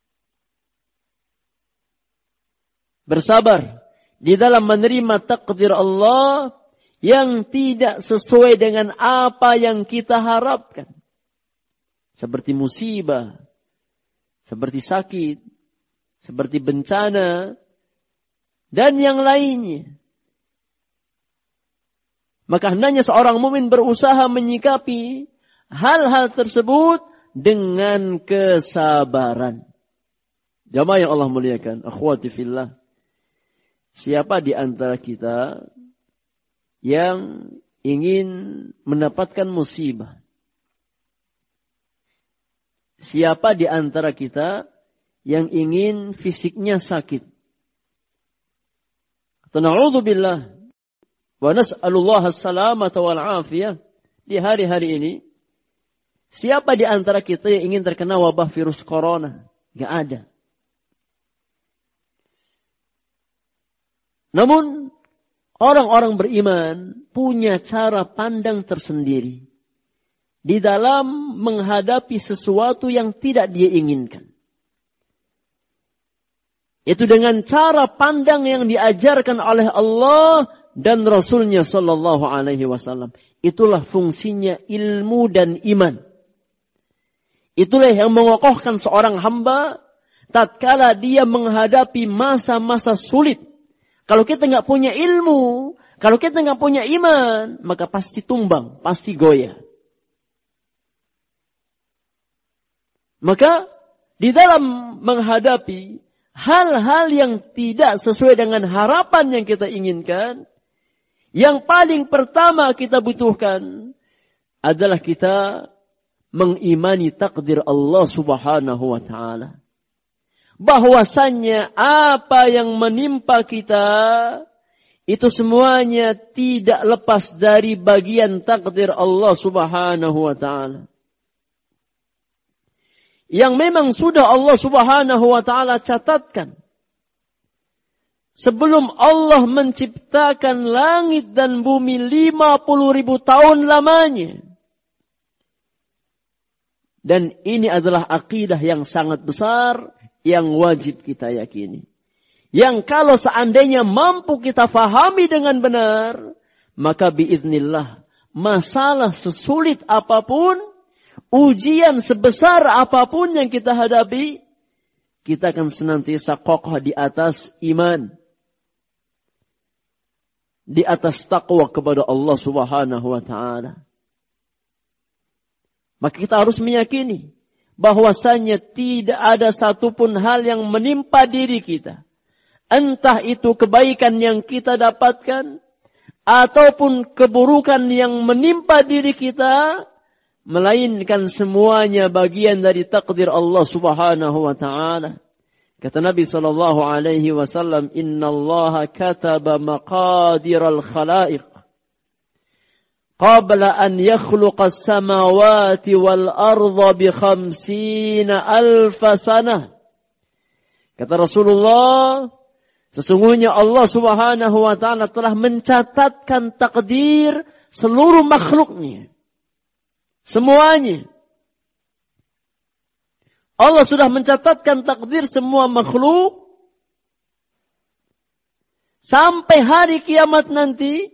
Bersabar di dalam menerima takdir Allah yang tidak sesuai dengan apa yang kita harapkan. seperti musibah, seperti sakit, seperti bencana, dan yang lainnya. Maka hendaknya seorang mukmin berusaha menyikapi hal-hal tersebut dengan kesabaran. Jamaah yang Allah muliakan, akhwati fillah. Siapa di antara kita yang ingin mendapatkan musibah? Siapa di antara kita yang ingin fisiknya sakit? Na'udzubillah wa nas'alullah as-salamata wal afiyah. Di hari-hari ini, siapa di antara kita yang ingin terkena wabah virus corona? Gak ada. Namun, orang-orang beriman punya cara pandang tersendiri di dalam menghadapi sesuatu yang tidak dia inginkan. Itu dengan cara pandang yang diajarkan oleh Allah dan Rasulnya sallallahu alaihi wasallam. Itulah fungsinya ilmu dan iman. Itulah yang mengokohkan seorang hamba tatkala dia menghadapi masa-masa sulit. Kalau kita nggak punya ilmu, kalau kita nggak punya iman, maka pasti tumbang, pasti goyah. Maka di dalam menghadapi hal-hal yang tidak sesuai dengan harapan yang kita inginkan, yang paling pertama kita butuhkan adalah kita mengimani takdir Allah Subhanahu wa ta'ala. Bahwasannya apa yang menimpa kita, itu semuanya tidak lepas dari bagian takdir Allah Subhanahu wa ta'ala. Yang memang sudah Allah Subhanahu wa ta'ala catatkan. Sebelum Allah menciptakan langit dan bumi 50.000 tahun lamanya. Dan ini adalah akidah yang sangat besar yang wajib kita yakini. Yang kalau seandainya mampu kita fahami dengan benar, maka biiznillah masalah sesulit apapun, ujian sebesar apapun yang kita hadapi, kita akan senantiasa kokoh di atas iman. Di atas taqwa kepada Allah Subhanahu wa ta'ala. Maka kita harus meyakini bahwasanya tidak ada satupun hal yang menimpa diri kita. Entah itu kebaikan yang kita dapatkan, ataupun keburukan yang menimpa diri kita, melainkan semuanya bagian dari takdir Allah Subhanahu wa ta'ala. Kata Nabi sallallahu alaihi wasallam, "Innallaha kataba maqadiral khalaiq qabla an yakhluqa as-samawati wal arda bi 50,000 sanah." Kata Rasulullah, sesungguhnya Allah Subhanahu wa ta'ala telah mencatatkan takdir seluruh makhluknya. Semuanya. Allah sudah mencatatkan takdir semua makhluk sampai hari kiamat nanti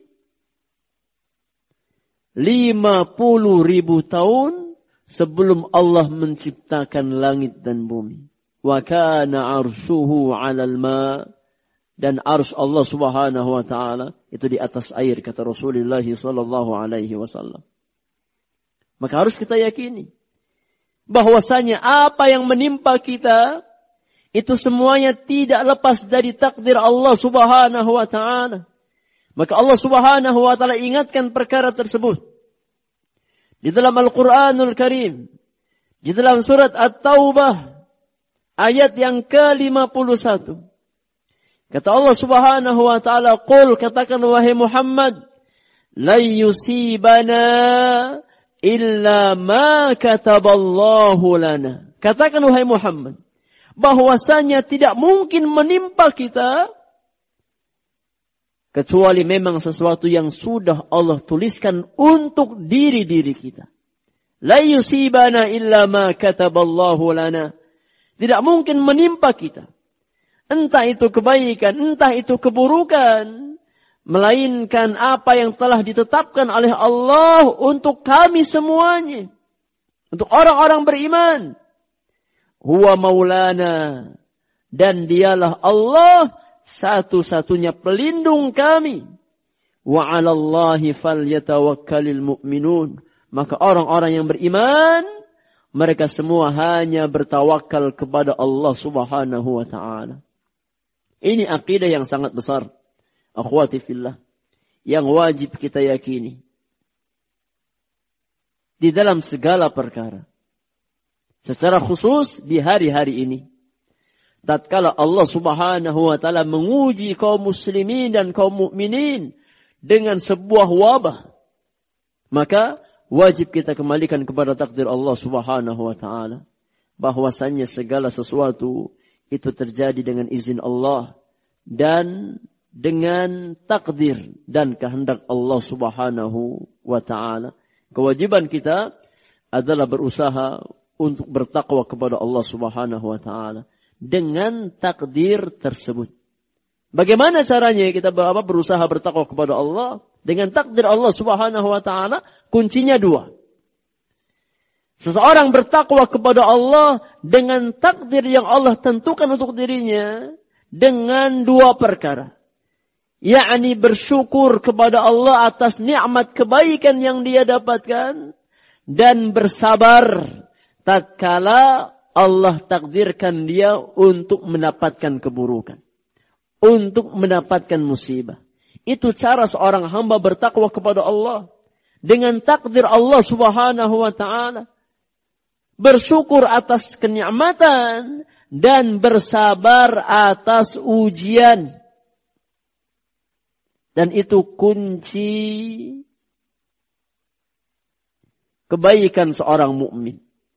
50.000 tahun sebelum Allah menciptakan langit dan bumi. Wa kana arshuhu 'alal ma, dan arsy Allah Subhanahu wa ta'ala itu di atas air, kata Rasulullah sallallahu alaihi wasallam. Maka harus kita yakini bahwasanya apa yang menimpa kita itu semuanya tidak lepas dari takdir Allah Subhanahu wa ta'ala. Maka Allah Subhanahu wa ta'ala ingatkan perkara tersebut di dalam Al-Qur'anul Karim, di dalam surat At-Taubah ayat yang ke-51. Kata Allah Subhanahu wa ta'ala, "Qul," katakan wahai Muhammad, "la yusibana illa ma kataballahu lana." Katakan wahai Muhammad, bahwasanya tidak mungkin menimpa kita kecuali memang sesuatu yang sudah Allah tuliskan untuk diri-diri kita. La yusibana illa ma kataballahu lana. Tidak mungkin menimpa kita, entah itu kebaikan, entah itu keburukan, melainkan apa yang telah ditetapkan oleh Allah untuk kami semuanya. Untuk orang-orang beriman. Huwa maulana. Dan dialah Allah satu-satunya pelindung kami. Wa 'alallahi falyatawakkalul mu'minun. Maka orang-orang yang beriman, mereka semua hanya bertawakal kepada Allah Subhanahu wa ta'ala. Ini akidah yang sangat besar. Akhwati fillah. Yang wajib kita yakini. Di dalam segala perkara. Secara khusus di hari-hari ini. Tatkala Allah Subhanahu wa ta'ala menguji kaum muslimin dan kaum mukminin dengan sebuah wabah. Maka wajib kita kembalikan kepada takdir Allah Subhanahu wa ta'ala. Bahwasannya segala sesuatu itu terjadi dengan izin Allah. Dan dengan takdir dan kehendak Allah Subhanahu wa ta'ala. Kewajiban kita adalah berusaha untuk bertakwa kepada Allah Subhanahu wa ta'ala. Dengan takdir tersebut. Bagaimana caranya kita berusaha bertakwa kepada Allah? Dengan takdir Allah Subhanahu wa ta'ala, kuncinya dua. Seseorang bertakwa kepada Allah dengan takdir yang Allah tentukan untuk dirinya dengan dua perkara. Yakni bersyukur kepada Allah atas nikmat kebaikan yang dia dapatkan dan bersabar tatkala Allah takdirkan dia untuk mendapatkan keburukan, untuk mendapatkan musibah. Itu cara seorang hamba bertakwa kepada Allah dengan takdir Allah Subhanahu wa ta'ala. Bersyukur atas kenikmatan dan bersabar atas ujian. Dan itu kunci kebaikan seorang mukmin.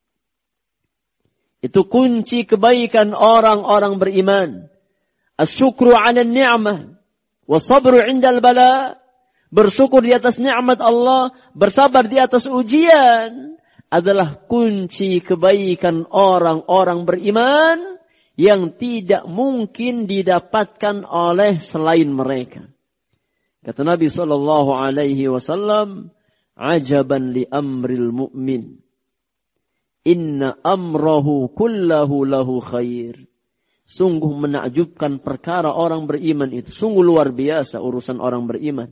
Itu kunci kebaikan orang-orang beriman. Asyukru 'ala ni'mah wa sabru 'inda al-bala. Bersyukur di atas nikmat Allah, bersabar di atas ujian adalah kunci kebaikan orang-orang beriman yang tidak mungkin didapatkan oleh selain mereka. Kata Nabi sallallahu alaihi wasallam, "Ajaban li amril mu'min. Inna amrahu kullahu lahu khair." Sungguh menakjubkan perkara orang beriman itu. Sungguh luar biasa urusan orang beriman.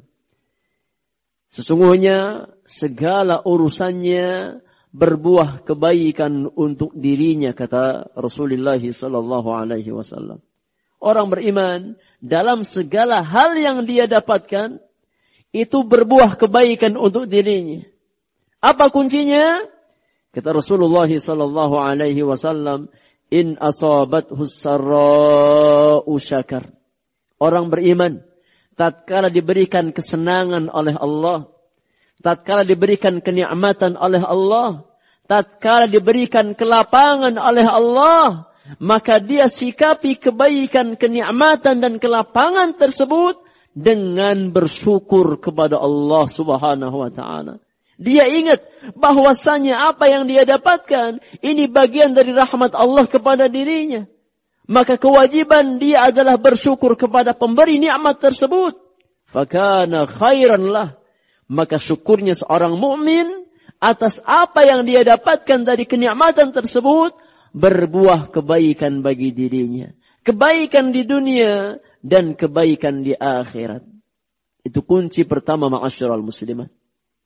Sesungguhnya segala urusannya berbuah kebaikan untuk dirinya, kata Rasulullah sallallahu alaihi wasallam. Orang beriman dalam segala hal yang dia dapatkan itu berbuah kebaikan untuk dirinya. Apa kuncinya? Kata Rasulullah sallallahu alaihi wasallam, "In asabathu sarra'u syakar." Orang beriman tatkala diberikan kesenangan oleh Allah, tatkala diberikan kenikmatan oleh Allah, tatkala diberikan kelapangan oleh Allah, maka dia sikapi kebaikan, kenikmatan dan kelapangan tersebut dengan bersyukur kepada Allah Subhanahu wa ta'ala. Dia ingat bahwasanya apa yang dia dapatkan ini bagian dari rahmat Allah kepada dirinya. Maka kewajiban dia adalah bersyukur kepada pemberi nikmat tersebut. Fakana khairan lah. Maka syukurnya seorang mukmin atas apa yang dia dapatkan dari kenikmatan tersebut berbuah kebaikan bagi dirinya. Kebaikan di dunia dan kebaikan di akhirat. Itu kunci pertama ma'asyiral muslimat.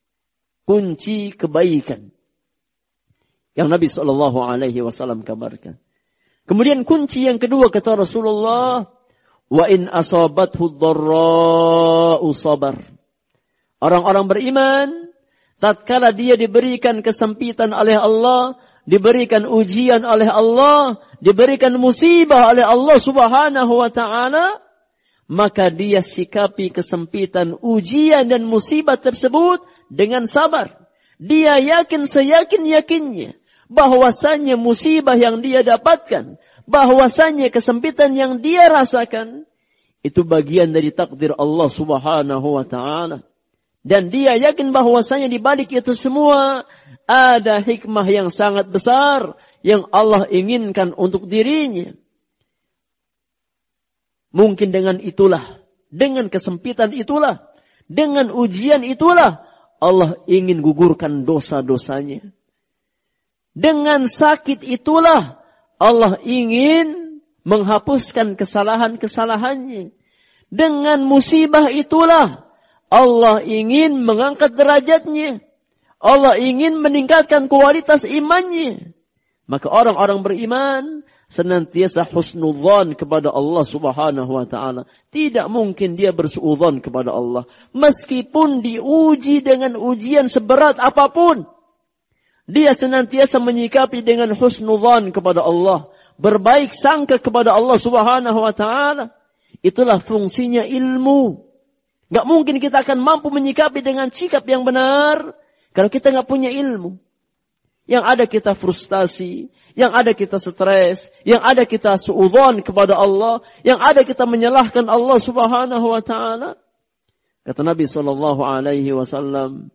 Kunci kebaikan yang Nabi SAW kabarkan. Kemudian kunci yang kedua kata Rasulullah, wa in asabathu dharra'u sabar. Orang-orang beriman tatkala dia diberikan kesempitan oleh Allah, diberikan ujian oleh Allah, diberikan musibah oleh Allah Subhanahu wa ta'ala, maka dia sikapi kesempitan, ujian dan musibah tersebut dengan sabar. Dia yakin seyakin-yakinnya bahwasannya musibah yang dia dapatkan, bahwasannya kesempitan yang dia rasakan itu bagian dari takdir Allah Subhanahu wa ta'ala. Dan dia yakin bahwasanya di balik itu semua ada hikmah yang sangat besar yang Allah inginkan untuk dirinya. Mungkin dengan itulah, dengan kesempitan itulah, dengan ujian itulah Allah ingin gugurkan dosa-dosanya. Dengan sakit itulah Allah ingin menghapuskan kesalahan-kesalahannya. Dengan musibah itulah Allah ingin mengangkat derajatnya. Allah ingin meningkatkan kualitas imannya. Maka orang-orang beriman senantiasa husnudzan kepada Allah Subhanahu wa taala. Tidak mungkin dia bersuudzon kepada Allah meskipun diuji dengan ujian seberat apapun. Dia senantiasa menyikapi dengan husnudzan kepada Allah, berbaik sangka kepada Allah Subhanahu wa taala. Itulah fungsinya ilmu. Gak mungkin kita akan mampu menyikapi dengan sikap yang benar kalau kita gak punya ilmu. Yang ada kita frustasi, yang ada kita stres, yang ada kita suudzon kepada Allah, yang ada kita menyalahkan Allah Subhanahu wa taala. Kata Nabi sallallahu alaihi wasallam,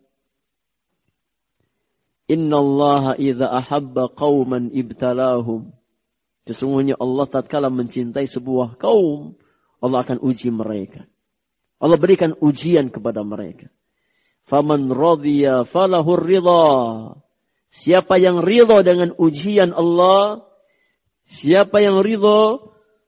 "Inna Allah idza ahabba qauman ibtalahum." Sesungguhnya Allah tatkala mencintai sebuah kaum, Allah akan uji mereka. Allah berikan ujian kepada mereka. Faman radhiya falahur ridha. Siapa yang ridha dengan ujian Allah, siapa yang ridha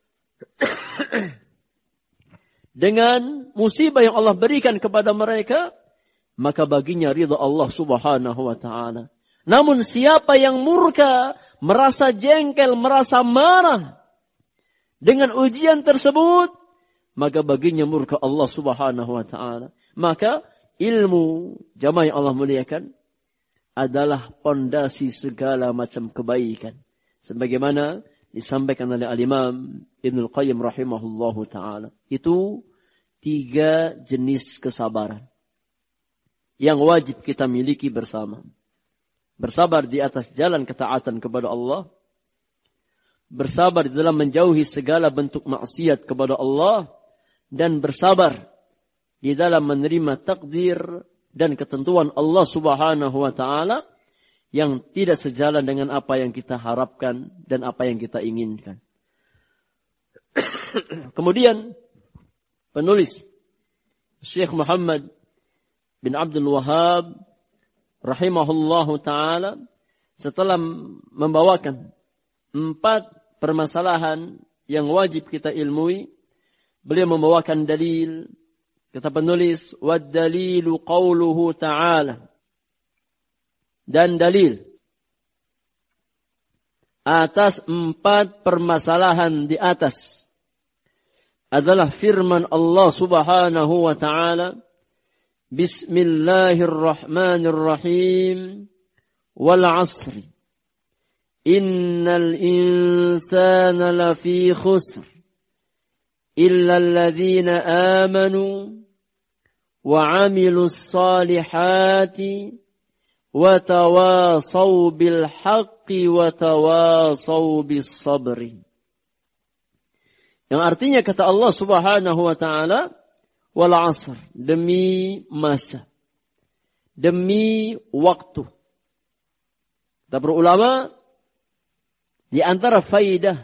dengan musibah yang Allah berikan kepada mereka, maka baginya ridha Allah Subhanahu wa taala. Namun siapa yang murka, merasa jengkel, merasa marah dengan ujian tersebut, maka baginya murka Allah Subhanahu wa taala. Maka ilmu, jamaah yang Allah muliakan, adalah pondasi segala macam kebaikan. Sebagaimana disampaikan oleh Al-Imam Ibnul Qayyim rahimahullahu ta'ala. Itu 3 jenis kesabaran yang wajib kita miliki bersama. Bersabar di atas jalan ketaatan kepada Allah. Bersabar di dalam menjauhi segala bentuk maksiat kepada Allah. Dan bersabar di dalam menerima takdir dan ketentuan Allah Subhanahu wa taala yang tidak sejalan dengan apa yang kita harapkan dan apa yang kita inginkan. Kemudian penulis Syekh Muhammad bin Abdul Wahhab rahimahullahu taala setelah membawakan 4 permasalahan yang wajib kita ilmui, beliau membawakan dalil. Kata penulis, wad-dalilu qauluhu ta'ala. Dan dalil atas 4 permasalahan di atas adalah firman Allah Subhanahu wa ta'ala, Bismillahirrahmanirrahim, wal 'asri, innal insana lafi khusr, illa alladhina amanu wa 'amilus salihati wa tawasaw bil haqqi wa tawasaw bis sabri. Yang artinya kata Allah Subhanahu wa taala, wal 'asr, demi masa, demi waktu. Kata para ulama, di antara faidah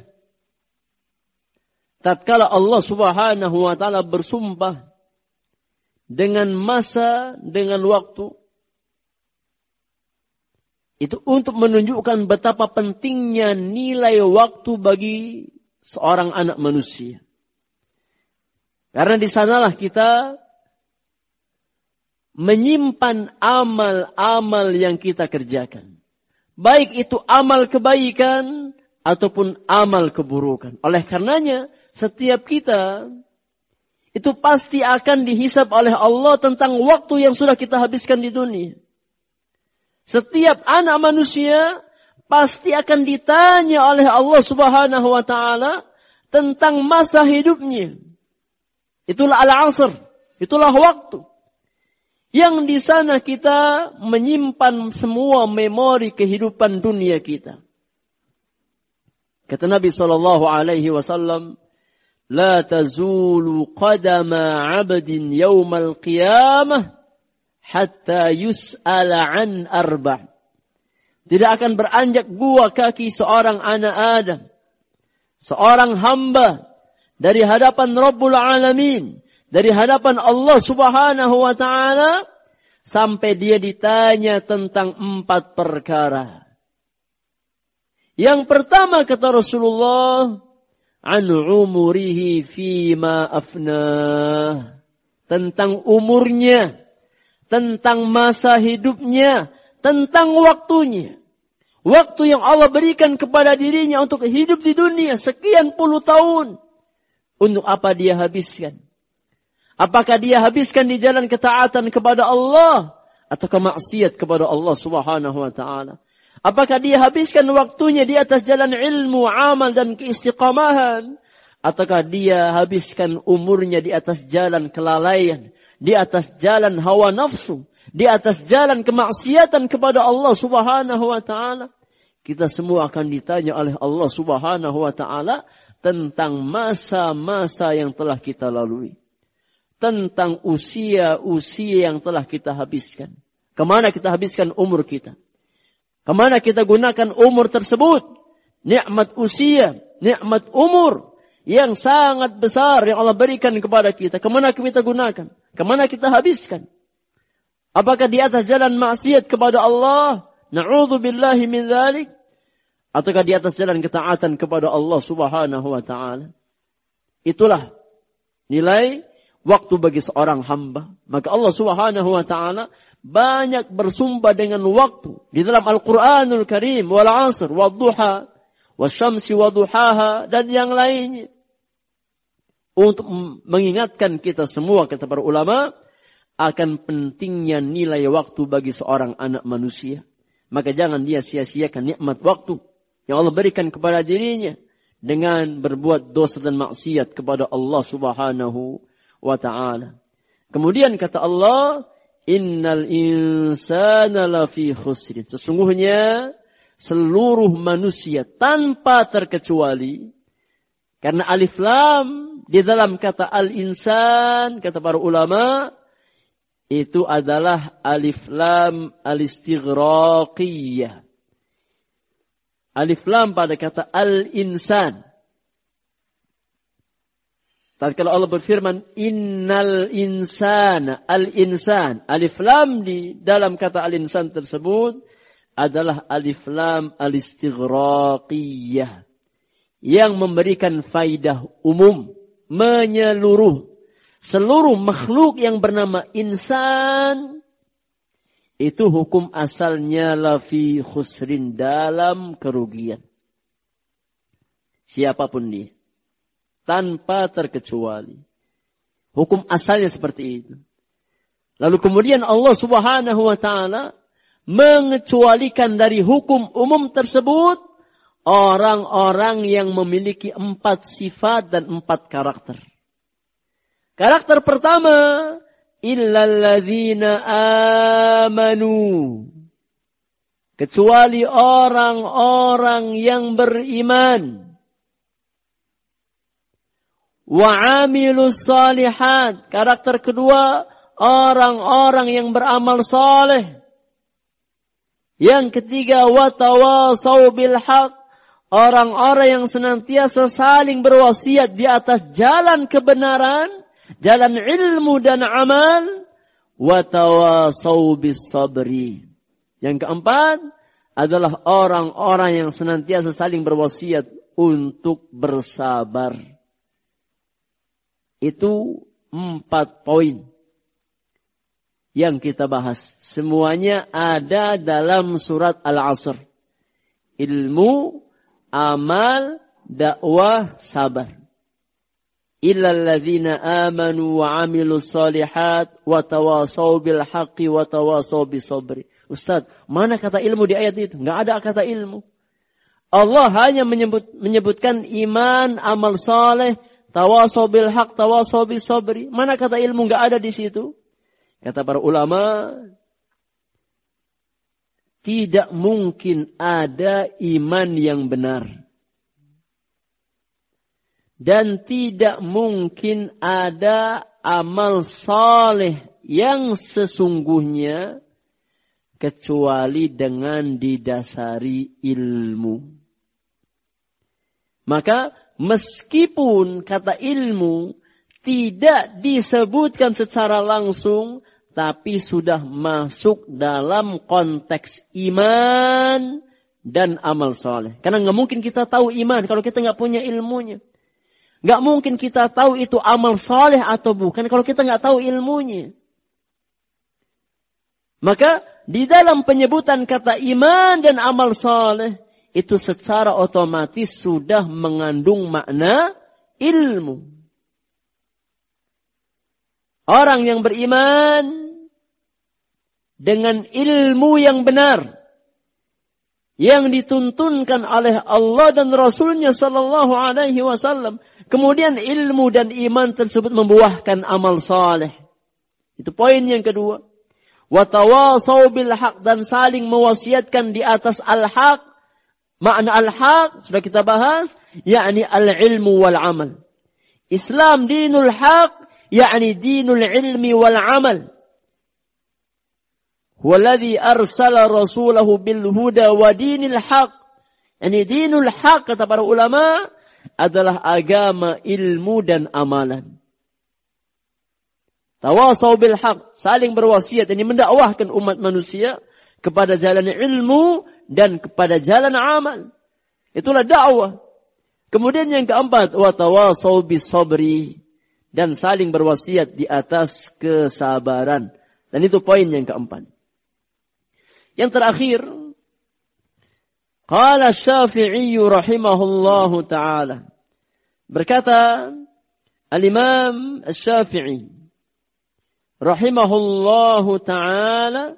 tatkala Allah Subhanahu wa taala bersumpah dengan masa, dengan waktu, itu untuk menunjukkan betapa pentingnya nilai waktu bagi seorang anak manusia. Karena di sanalah kita menyimpan amal-amal yang kita kerjakan. Baik itu amal kebaikan ataupun amal keburukan. Oleh karenanya, setiap kita itu pasti akan dihisab oleh Allah tentang waktu yang sudah kita habiskan di dunia. Setiap anak manusia pasti akan ditanya oleh Allah Subhanahu wa taala tentang masa hidupnya. Itulah al-'asr, itulah waktu. Yang di sana kita menyimpan semua memori kehidupan dunia kita. Kata Nabi sallallahu alaihi wasallam, "La tazulu qadama 'abdin yaumal qiyamah hatta yus'ala 'an arba'." Tidak akan beranjak 2 kaki seorang anak Adam, seorang hamba dari hadapan Rabbul Alamin, dari hadapan Allah Subhanahu wa ta'ala, sampai dia ditanya tentang 4 perkara. Yang pertama kata Rasulullah, an umurihi fima afnah. Tentang umurnya, tentang masa hidupnya, tentang waktunya. Waktu yang Allah berikan kepada dirinya untuk hidup di dunia sekian puluh tahun. Untuk apa dia habiskan? Apakah dia habiskan di jalan ketaatan kepada Allah atau kemaksiat kepada Allah Subhanahu wa taala? Apakah dia habiskan waktunya di atas jalan ilmu, amal dan keistiqamahan? Ataukah dia habiskan umurnya di atas jalan kelalaian, di atas jalan hawa nafsu, di atas jalan kemaksiatan kepada Allah Subhanahu wa taala? Kita semua akan ditanya oleh Allah Subhanahu wa taala tentang masa-masa yang telah kita lalui. Tentang usia-usia yang telah kita habiskan. Kemana kita habiskan umur kita? Kemana kita gunakan umur tersebut? Nikmat usia, nikmat umur yang sangat besar yang Allah berikan kepada kita. Kemana kita gunakan? Kemana kita habiskan? Apakah di atas jalan maksiat kepada Allah? Na'udzubillahi min dzalik. Ataukah di atas jalan ketaatan kepada Allah Subhanahu wa taala? Itulah nilai waktu bagi seorang hamba. Maka Allah Subhanahu wa taala banyak bersumpah dengan waktu di dalam Al-Qur'anul Karim, wal 'asr, wad-duha, wasyamsi waduhaha dan yang lainnya. Untuk mengingatkan kita semua, kata para ulama, akan pentingnya nilai waktu bagi seorang anak manusia. Maka jangan dia sia-siakan nikmat waktu yang Allah berikan kepada dirinya dengan berbuat dosa dan maksiat kepada Allah Subhanahu wa ta'ala. Kemudian kata Allah, innal insana lafi khusrin. Sesungguhnya seluruh manusia tanpa terkecuali, karena alif lam di dalam kata al-insan, kata para ulama, itu adalah alif lam al-istighraqiyah. Alif lam pada kata al-insan. Tatkala Allah berfirman, innal insana, al-insan. Alif lam di dalam kata al-insan tersebut adalah alif lam al-istighraqiyah. Yang memberikan faidah umum, menyeluruh. Seluruh makhluk yang bernama insan, itu hukum asalnya lafi khusrin, dalam kerugian. Siapapun dia. Tanpa terkecuali. Hukum asalnya seperti itu. Lalu kemudian Allah Subhanahu wa ta'ala mengecualikan dari hukum umum tersebut orang-orang yang memiliki 4 sifat dan 4 karakter. Karakter pertama, illalladzina amanu. Kecuali orang-orang yang beriman. Wa amilus salihat. Karakter kedua, orang-orang yang beramal saleh. Yang ketiga, wa tawasau bil haq. Orang-orang yang senantiasa saling berwasiat di atas jalan kebenaran, jalan ilmu dan amal, wa tawasau bis sabri. Yang keempat adalah orang-orang yang senantiasa saling berwasiat untuk bersabar. Itu 4 poin yang kita bahas. Semuanya ada dalam surat Al-Asr. Ilmu, amal, dakwah, sabar. Illalladzina amanu wa amilus salihat wa tawasaw bil haqqi wa tawasaw bis sabri. Ustaz, mana kata ilmu di ayat itu? Enggak ada kata ilmu. Allah hanya menyebutkan iman, amal saleh, tawasaw bil haqq, tawasaw bis sabri. Mana kata ilmu? Enggak ada di situ. Kata para ulama, tidak mungkin ada iman yang benar. Dan tidak mungkin ada amal saleh yang sesungguhnya kecuali dengan didasari ilmu. Maka meskipun kata ilmu tidak disebutkan secara langsung, tapi sudah masuk dalam konteks iman dan amal saleh. Karena nggak mungkin kita tahu iman kalau kita nggak punya ilmunya. Nggak mungkin kita tahu itu amal saleh atau bukan kalau kita nggak tahu ilmunya. Maka di dalam penyebutan kata iman dan amal saleh itu secara otomatis sudah mengandung makna ilmu. Orang yang beriman dengan ilmu yang benar yang dituntunkan oleh Allah dan Rasulnya sallallahu alaihi wasallam, kemudian ilmu dan iman tersebut membuahkan amal saleh. Itu poin yang kedua. Wa tawasau bil haq, dan saling mewasiatkan di atas al-haq. Makna al-haq sudah kita bahas, yakni al-ilmu wal amal. Islam dinul haq, yakni dinul ilmi wal amal. Huwaladzi arsala rasulahu bil huda wa dinil haq. Yani dinul haq kata para ulama adalah agama ilmu dan amalan. Tawasau bil haq, saling berwasiat, ini mendakwahkan umat manusia kepada jalan ilmu dan kepada jalan amal. Itulah dakwah. Kemudian yang keempat, wa tawasau bis sabri, dan saling berwasiat di atas kesabaran. Dan itu poin yang keempat. Yang terakhir, qala Syafi'i rahimahullahu ta'ala. Berkata Al-Imam Syafi'i rahimahullahu ta'ala,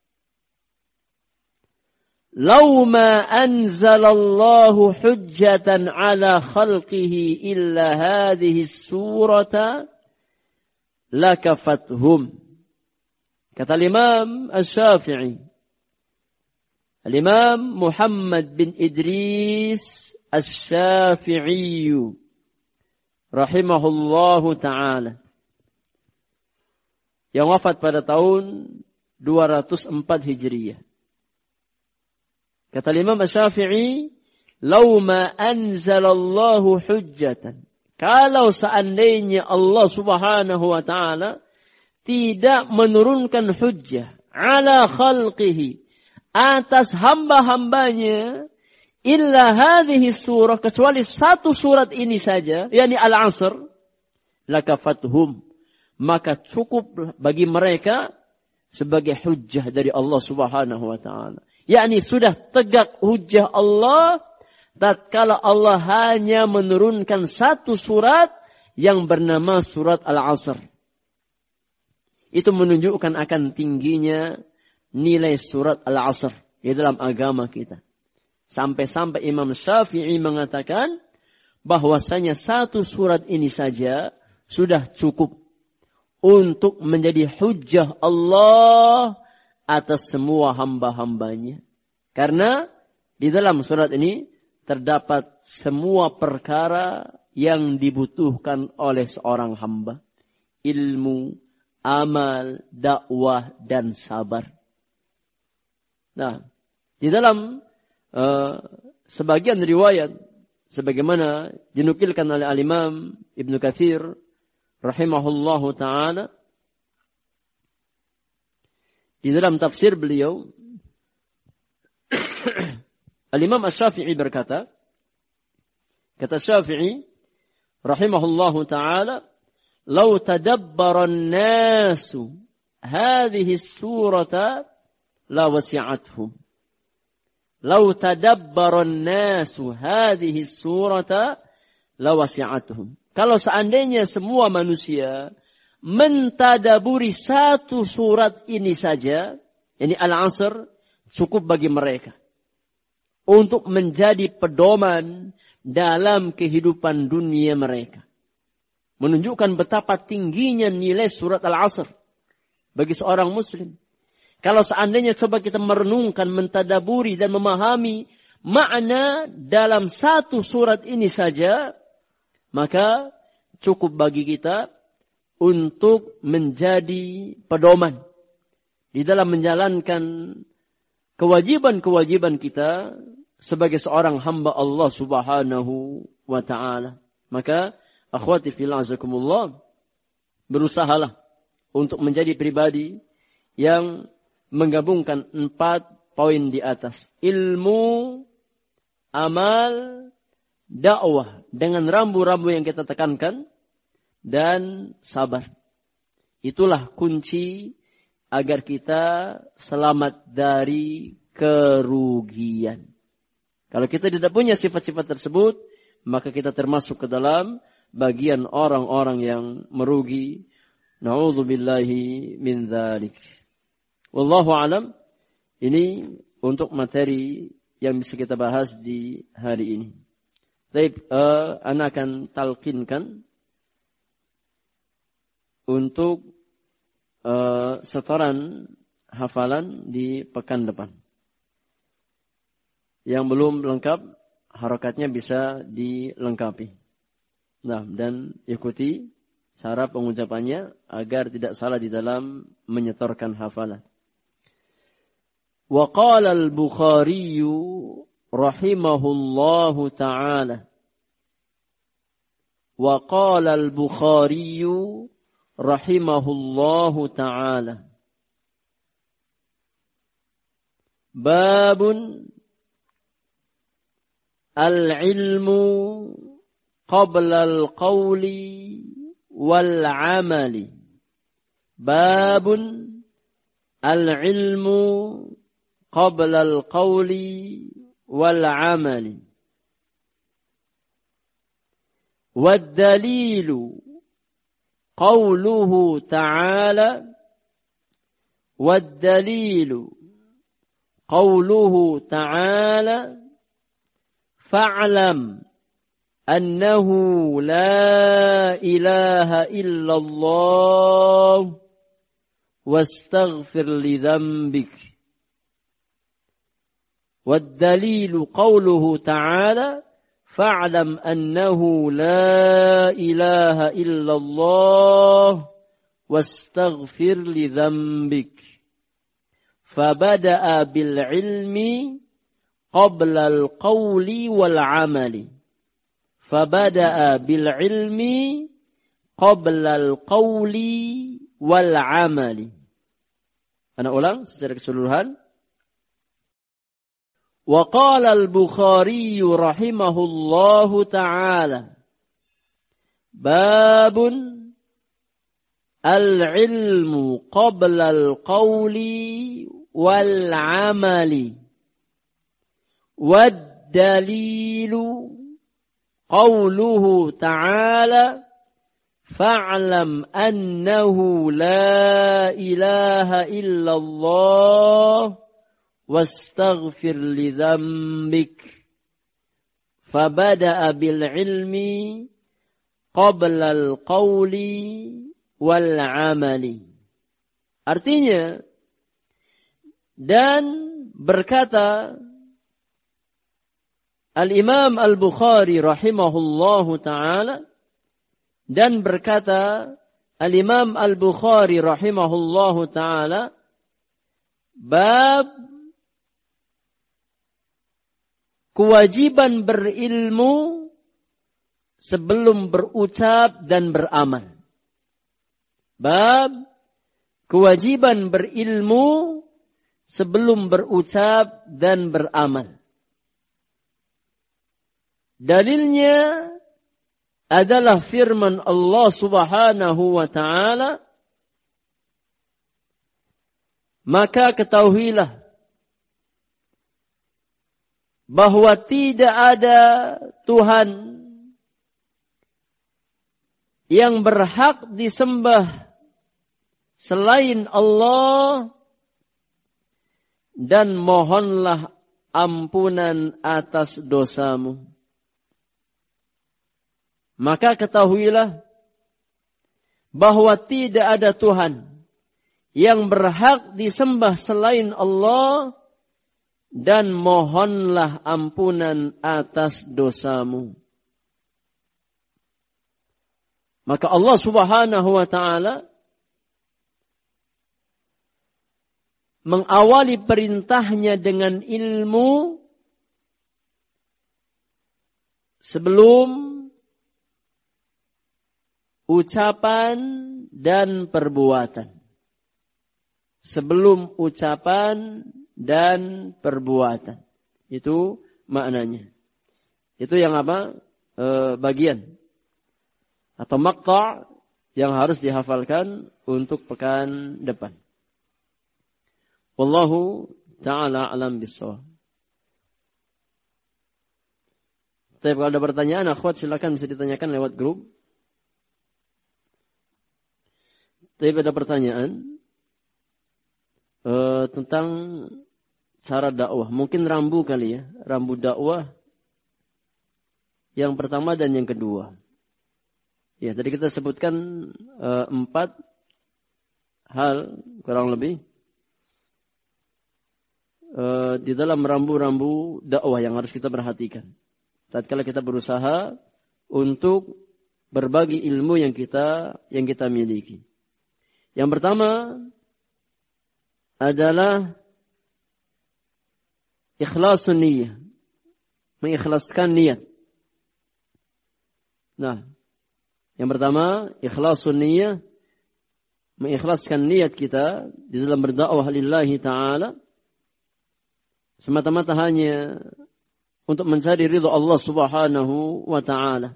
"Law ma anzalallahu hujjatan ala khalqihi illa hadhihi surata lakafathum." Kata Imam Asy-Syafi'i, Al-Imam Muhammad bin Idris Asy-Syafi'i rahimahullahu ta'ala, yang wafat pada tahun 204 Hijriyah. Kata Imam Asy-Syafi'i, "Law ma anzalallahu hujjatan." Kalau seandainya Allah Subhanahu wa ta'ala tidak menurunkan hujjah ala khalqihi, atas hamba-hambanya, illa hadhihi surah, kecuali satu surat ini saja, yakni Al-Asr, lakafathum, maka cukup bagi mereka sebagai hujjah dari Allah Subhanahu wa ta'ala. Yakni sudah tegak hujjah Allah tatkala Allah hanya menurunkan satu surat yang bernama surat Al-Asr. Itu menunjukkan akan tingginya nilai surat Al-Asr di dalam agama kita. Sampai-sampai Imam Syafi'i mengatakan bahwasanya satu surat ini saja sudah cukup untuk menjadi hujjah Allah atas semua hamba-hambanya. Karena di dalam surat ini terdapat semua perkara yang dibutuhkan oleh seorang hamba. Ilmu, amal, dakwah, dan sabar. Nah, di dalam sebagian riwayat, sebagaimana dinukilkan oleh Al-Imam Ibnu Katsir rahimahullahu ta'ala, di dalam tafsir beliau, Al-Imam Asy-Syafi'i berkata, kata Syafi'i rahimahullahu ta'ala, "Lau tadabbara an-nasu hadhihi as-surata la wasi'athum." Lau tadabbara an-nasu hadhihi as-surata la wasi'athum. Kalau seandainya semua manusia mentadaburi satu surat ini saja, yakni Al-Asr, cukup bagi mereka untuk menjadi pedoman dalam kehidupan dunia mereka. Menunjukkan betapa tingginya nilai surat Al-Asr bagi seorang muslim. Kalau seandainya coba kita merenungkan, mentadaburi dan memahami makna dalam satu surat ini saja, maka cukup bagi kita untuk menjadi pedoman di dalam menjalankan kewajiban-kewajiban kita sebagai seorang hamba Allah Subhanahu wa ta'ala. Maka akhwati fillah azakumullah, berusahalah untuk menjadi pribadi yang menggabungkan 4 poin di atas. Ilmu, amal, dakwah. Dengan rambu-rambu yang kita tekankan. Dan sabar. Itulah kunci agar kita selamat dari kerugian. Kalau kita tidak punya sifat-sifat tersebut, maka kita termasuk ke dalam bagian orang-orang yang merugi. Na'udzubillahi min dzalik. Wallahu alam. Ini untuk materi yang bisa kita bahas di hari ini. Baik, ana akan talqinkan untuk setoran hafalan di pekan depan. Yang belum lengkap, harokatnya bisa dilengkapi. Nah, dan ikuti cara pengucapannya agar tidak salah di dalam menyetorkan hafalan. Wa qala al-Bukhari rahimahullahu ta'ala. Wa qala al-Bukhari rahimahullahu ta'ala. Babun al-ilmu qabla al-qawli wal-amali. Babun al-ilmu qabla al-qawli wal-amali. Wad-dalilu qawluhu ta'ala. Wad-dalilu qawluhu ta'ala. Fa'lam annahu la ilaha illallah wastaghfir li dhanbik. Wad-dalilu qawluhu ta'ala. Fa'lam annahu la ilaha illallah wastaghfir li dhanbik. Fabada'a bil ilmi qabla al-qawli wal-amali. Fabada'a bil ilmi qabla al-qawli wal-amali. Ana ulang secara keseluruhan. Wa qala al-Bukhari rahimahullahu ta'ala. Babun al-ilmu qabla al-qawli wal-amali. Wad-dalilu qawluhu ta'ala. Fa'lam annahu la ilaha illallah wastaghfir li dhanbik. Fabada'a bil ilmi qabla al-qawli wal-amali. Artinya, dan berkata Al-Imam Al-Bukhari rahimahullahu ta'ala, dan berkata Al-Imam Al-Bukhari rahimahullahu ta'ala, bab kewajiban berilmu sebelum berucap dan beramal. Bab kewajiban berilmu sebelum berucap dan beramal. Dalilnya adalah firman Allah Subhanahu wa ta'ala, maka ketahuilah bahwa tidak ada Tuhan yang berhak disembah selain Allah, dan mohonlah ampunan atas dosamu. Maka ketahuilah bahwa tidak ada Tuhan yang berhak disembah selain Allah, dan mohonlah ampunan atas dosamu. Maka Allah Subhanahu wa ta'ala mengawali perintahnya dengan ilmu sebelum ucapan dan perbuatan. Sebelum ucapan dan perbuatan. Itu maknanya. Itu yang apa? Bagian atau maqta' yang harus dihafalkan untuk pekan depan. Wallahu ta'ala alam bissawab. Tapi kalau ada pertanyaan, akhwat silakan bisa ditanyakan lewat grup. Tapi ada pertanyaan tentang cara dakwah. Mungkin rambu kali ya, rambu dakwah yang pertama dan yang kedua. Ya, tadi kita sebutkan 4 hal kurang lebih di dalam rambu-rambu dakwah yang harus kita perhatikan. Tatkala kita berusaha untuk berbagi ilmu yang kita miliki. Yang pertama adalah ikhlasun niyyah, mengikhlaskan niat. Nah, yang pertama ikhlasun niyyah, mengikhlaskan niat kita di dalam berdakwah lillahi ta'ala semata-mata hanya untuk mencari ridha Allah Subhanahu wa ta'ala.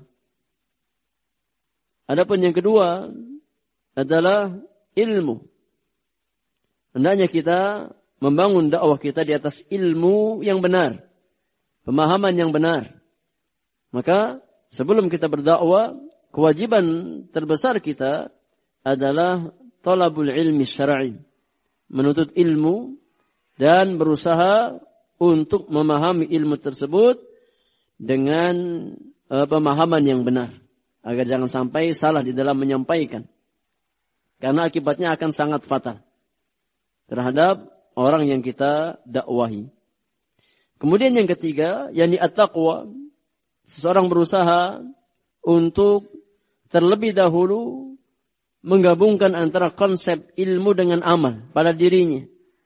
Adapun yang kedua adalah ilmu. Hendaknya kita membangun dakwah kita di atas ilmu yang benar, pemahaman yang benar. Maka sebelum kita berdakwah, kewajiban terbesar kita adalah talabul ilmi syar'i, menuntut ilmu dan berusaha untuk memahami ilmu tersebut dengan pemahaman yang benar, agar jangan sampai salah di dalam menyampaikan. Karena akibatnya akan sangat fatal terhadap orang yang kita dakwahi. Kemudian yang ketiga, yakni at-taqwa. Seseorang berusaha untuk terlebih dahulu menggabungkan antara konsep ilmu dengan amal pada dirinya.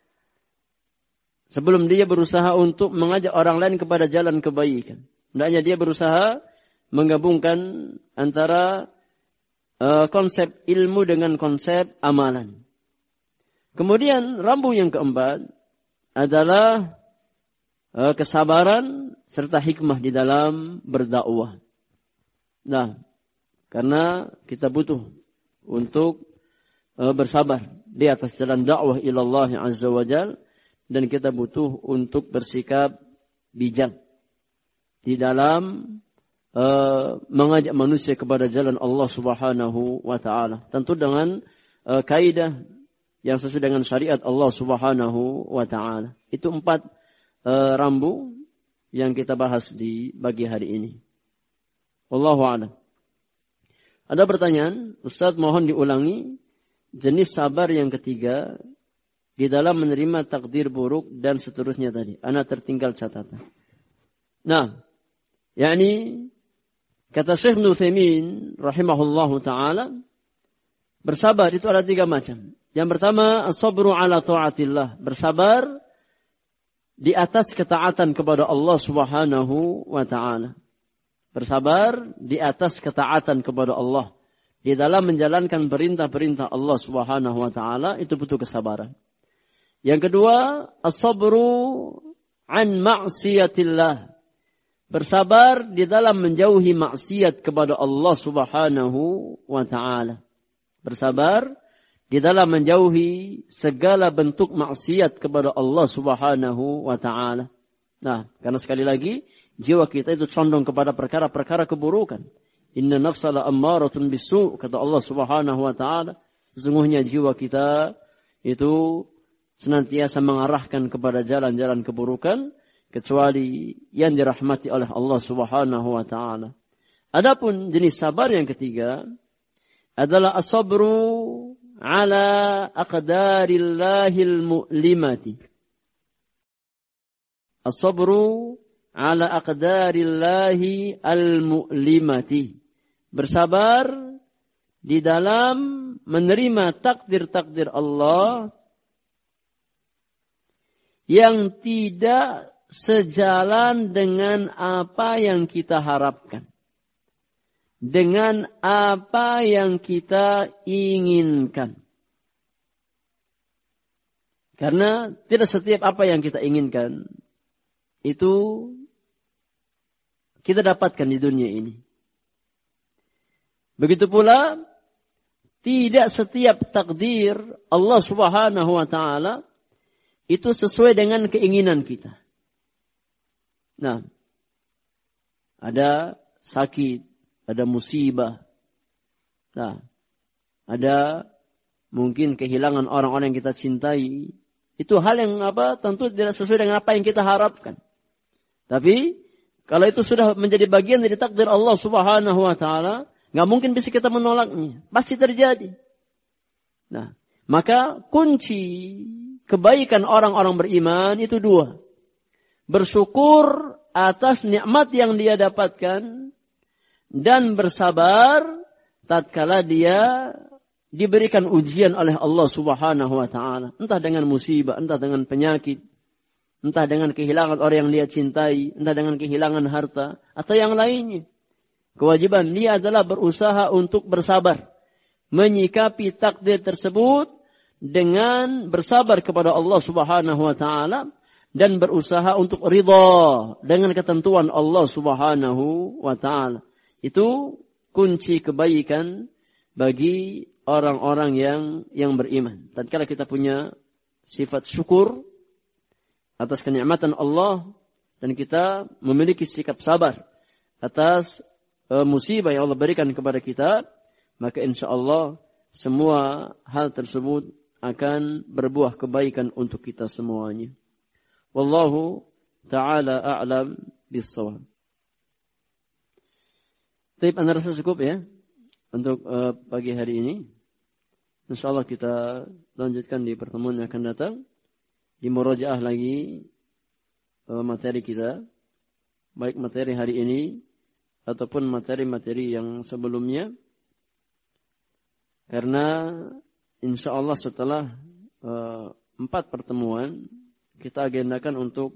Sebelum dia berusaha untuk mengajak orang lain kepada jalan kebaikan. Hendaknya dia berusaha menggabungkan antara konsep ilmu dengan konsep amalan. Kemudian rambu yang keempat adalah kesabaran serta hikmah di dalam berdakwah. Nah, karena kita butuh untuk bersabar di atas jalan dakwah ilallah azza wa jal, dan kita butuh untuk bersikap bijak di dalam mengajak manusia kepada jalan Allah Subhanahu wa ta'ala. Tentu dengan kaidah yang sesuai dengan syariat Allah Subhanahu wa ta'ala. Itu 4 rambu yang kita bahas di pagi hari ini. Wallahu a'lam. Ada pertanyaan, Ustaz mohon diulangi jenis sabar yang ketiga di dalam menerima takdir buruk dan seterusnya tadi. Ana tertinggal catatan. Nah, yakni kata Syekh Ibnu Utsaimin rahimahullahu taala, bersabar itu ada 3 macam. Yang pertama, as-sabru ala ta'atillah, bersabar di atas ketaatan kepada Allah Subhanahu wa taala. Bersabar di atas ketaatan kepada Allah di dalam menjalankan perintah-perintah Allah Subhanahu wa taala, itu butuh kesabaran. Yang kedua, as-sabru an ma'siyatillah, bersabar di dalam menjauhi maksiat kepada Allah Subhanahu wa ta'ala. Bersabar di dalam menjauhi segala bentuk maksiat kepada Allah Subhanahu wa ta'ala. Nah, karena sekali lagi, jiwa kita itu condong kepada perkara-perkara keburukan. Inna nafsa la ammaratun bisu', kata Allah Subhanahu wa ta'ala. Sesungguhnya jiwa kita itu senantiasa mengarahkan kepada jalan-jalan keburukan, kecuali yang dirahmati oleh Allah Subhanahu wa ta'ala. Adapun jenis sabar yang ketiga adalah as-sabru ala aqdarillahil mu'limati. As-sabru ala aqdarillahi al-mu'limati. Bersabar di dalam menerima takdir-takdir Allah yang tidak sejalan dengan apa yang kita harapkan, dengan apa yang kita inginkan. Karena tidak setiap apa yang kita inginkan itu kita dapatkan di dunia ini. Begitu pula tidak setiap takdir Allah Subhanahu wa taala itu sesuai dengan keinginan kita. Nah, ada sakit, ada musibah. Nah, ada mungkin kehilangan orang-orang yang kita cintai. Itu hal yang tentu tidak sesuai dengan apa yang kita harapkan. Tapi kalau itu sudah menjadi bagian dari takdir Allah Subhanahu wa taala, enggak mungkin bisa kita menolaknya. Pasti terjadi. Nah, maka kunci kebaikan orang-orang beriman itu dua. Bersyukur atas nikmat yang dia dapatkan dan bersabar tatkala dia diberikan ujian oleh Allah Subhanahu wa taala, entah dengan musibah, entah dengan penyakit, entah dengan kehilangan orang yang dia cintai, entah dengan kehilangan harta atau yang lainnya. Kewajiban dia adalah berusaha untuk bersabar, menyikapi takdir tersebut dengan bersabar kepada Allah Subhanahu wa taala dan berusaha untuk ridha dengan ketentuan Allah Subhanahu wa taala. Itu kunci kebaikan bagi orang-orang yang beriman. Tatkala kita punya sifat syukur atas kenikmatan Allah dan kita memiliki sikap sabar atas musibah yang Allah berikan kepada kita, maka insyaallah semua hal tersebut akan berbuah kebaikan untuk kita semuanya. Wallahu ta'ala a'lam bis-shawab. Baik, Anda rasa cukup ya untuk pagi hari ini. InsyaAllah kita lanjutkan di pertemuan yang akan datang. Di murojaah lagi materi kita. Baik materi hari ini ataupun materi-materi yang sebelumnya. Karena InsyaAllah setelah 4 pertemuan kita agendakan untuk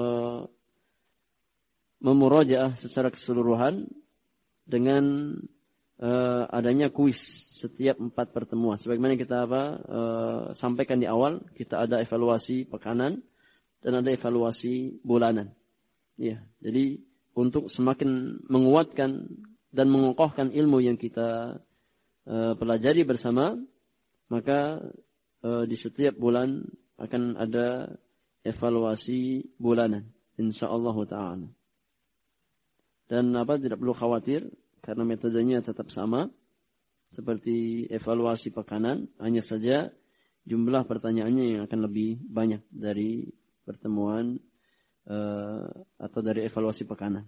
memurojaah secara keseluruhan dengan adanya kuis setiap 4 pertemuan. Sebagaimana kita sampaikan di awal, kita ada evaluasi pekanan dan ada evaluasi bulanan. Ya, jadi untuk semakin menguatkan dan mengokohkan ilmu yang kita pelajari bersama, maka di setiap bulan akan ada evaluasi bulanan, insyaallah taala. Dan tidak perlu khawatir karena metodenya tetap sama seperti evaluasi pekanan, hanya saja jumlah pertanyaannya yang akan lebih banyak dari pertemuan atau dari evaluasi pekanan.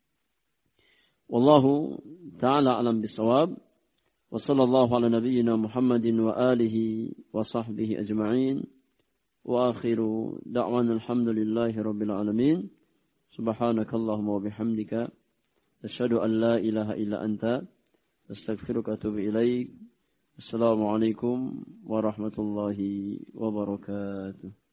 Wallahu ta'ala alam bisawab. Wa sallallahu ala nabiyyina Muhammadin wa alihi wa sahbihi ajma'in. Wa akhiru da'wana alhamdulillahi rabbil alamin. Subhanakallahumma wa bihamdika asyhadu an la ilaha illa anta astaghfiruka wa atubu ilaik. Assalamualaikum warahmatullahi wabarakatuh.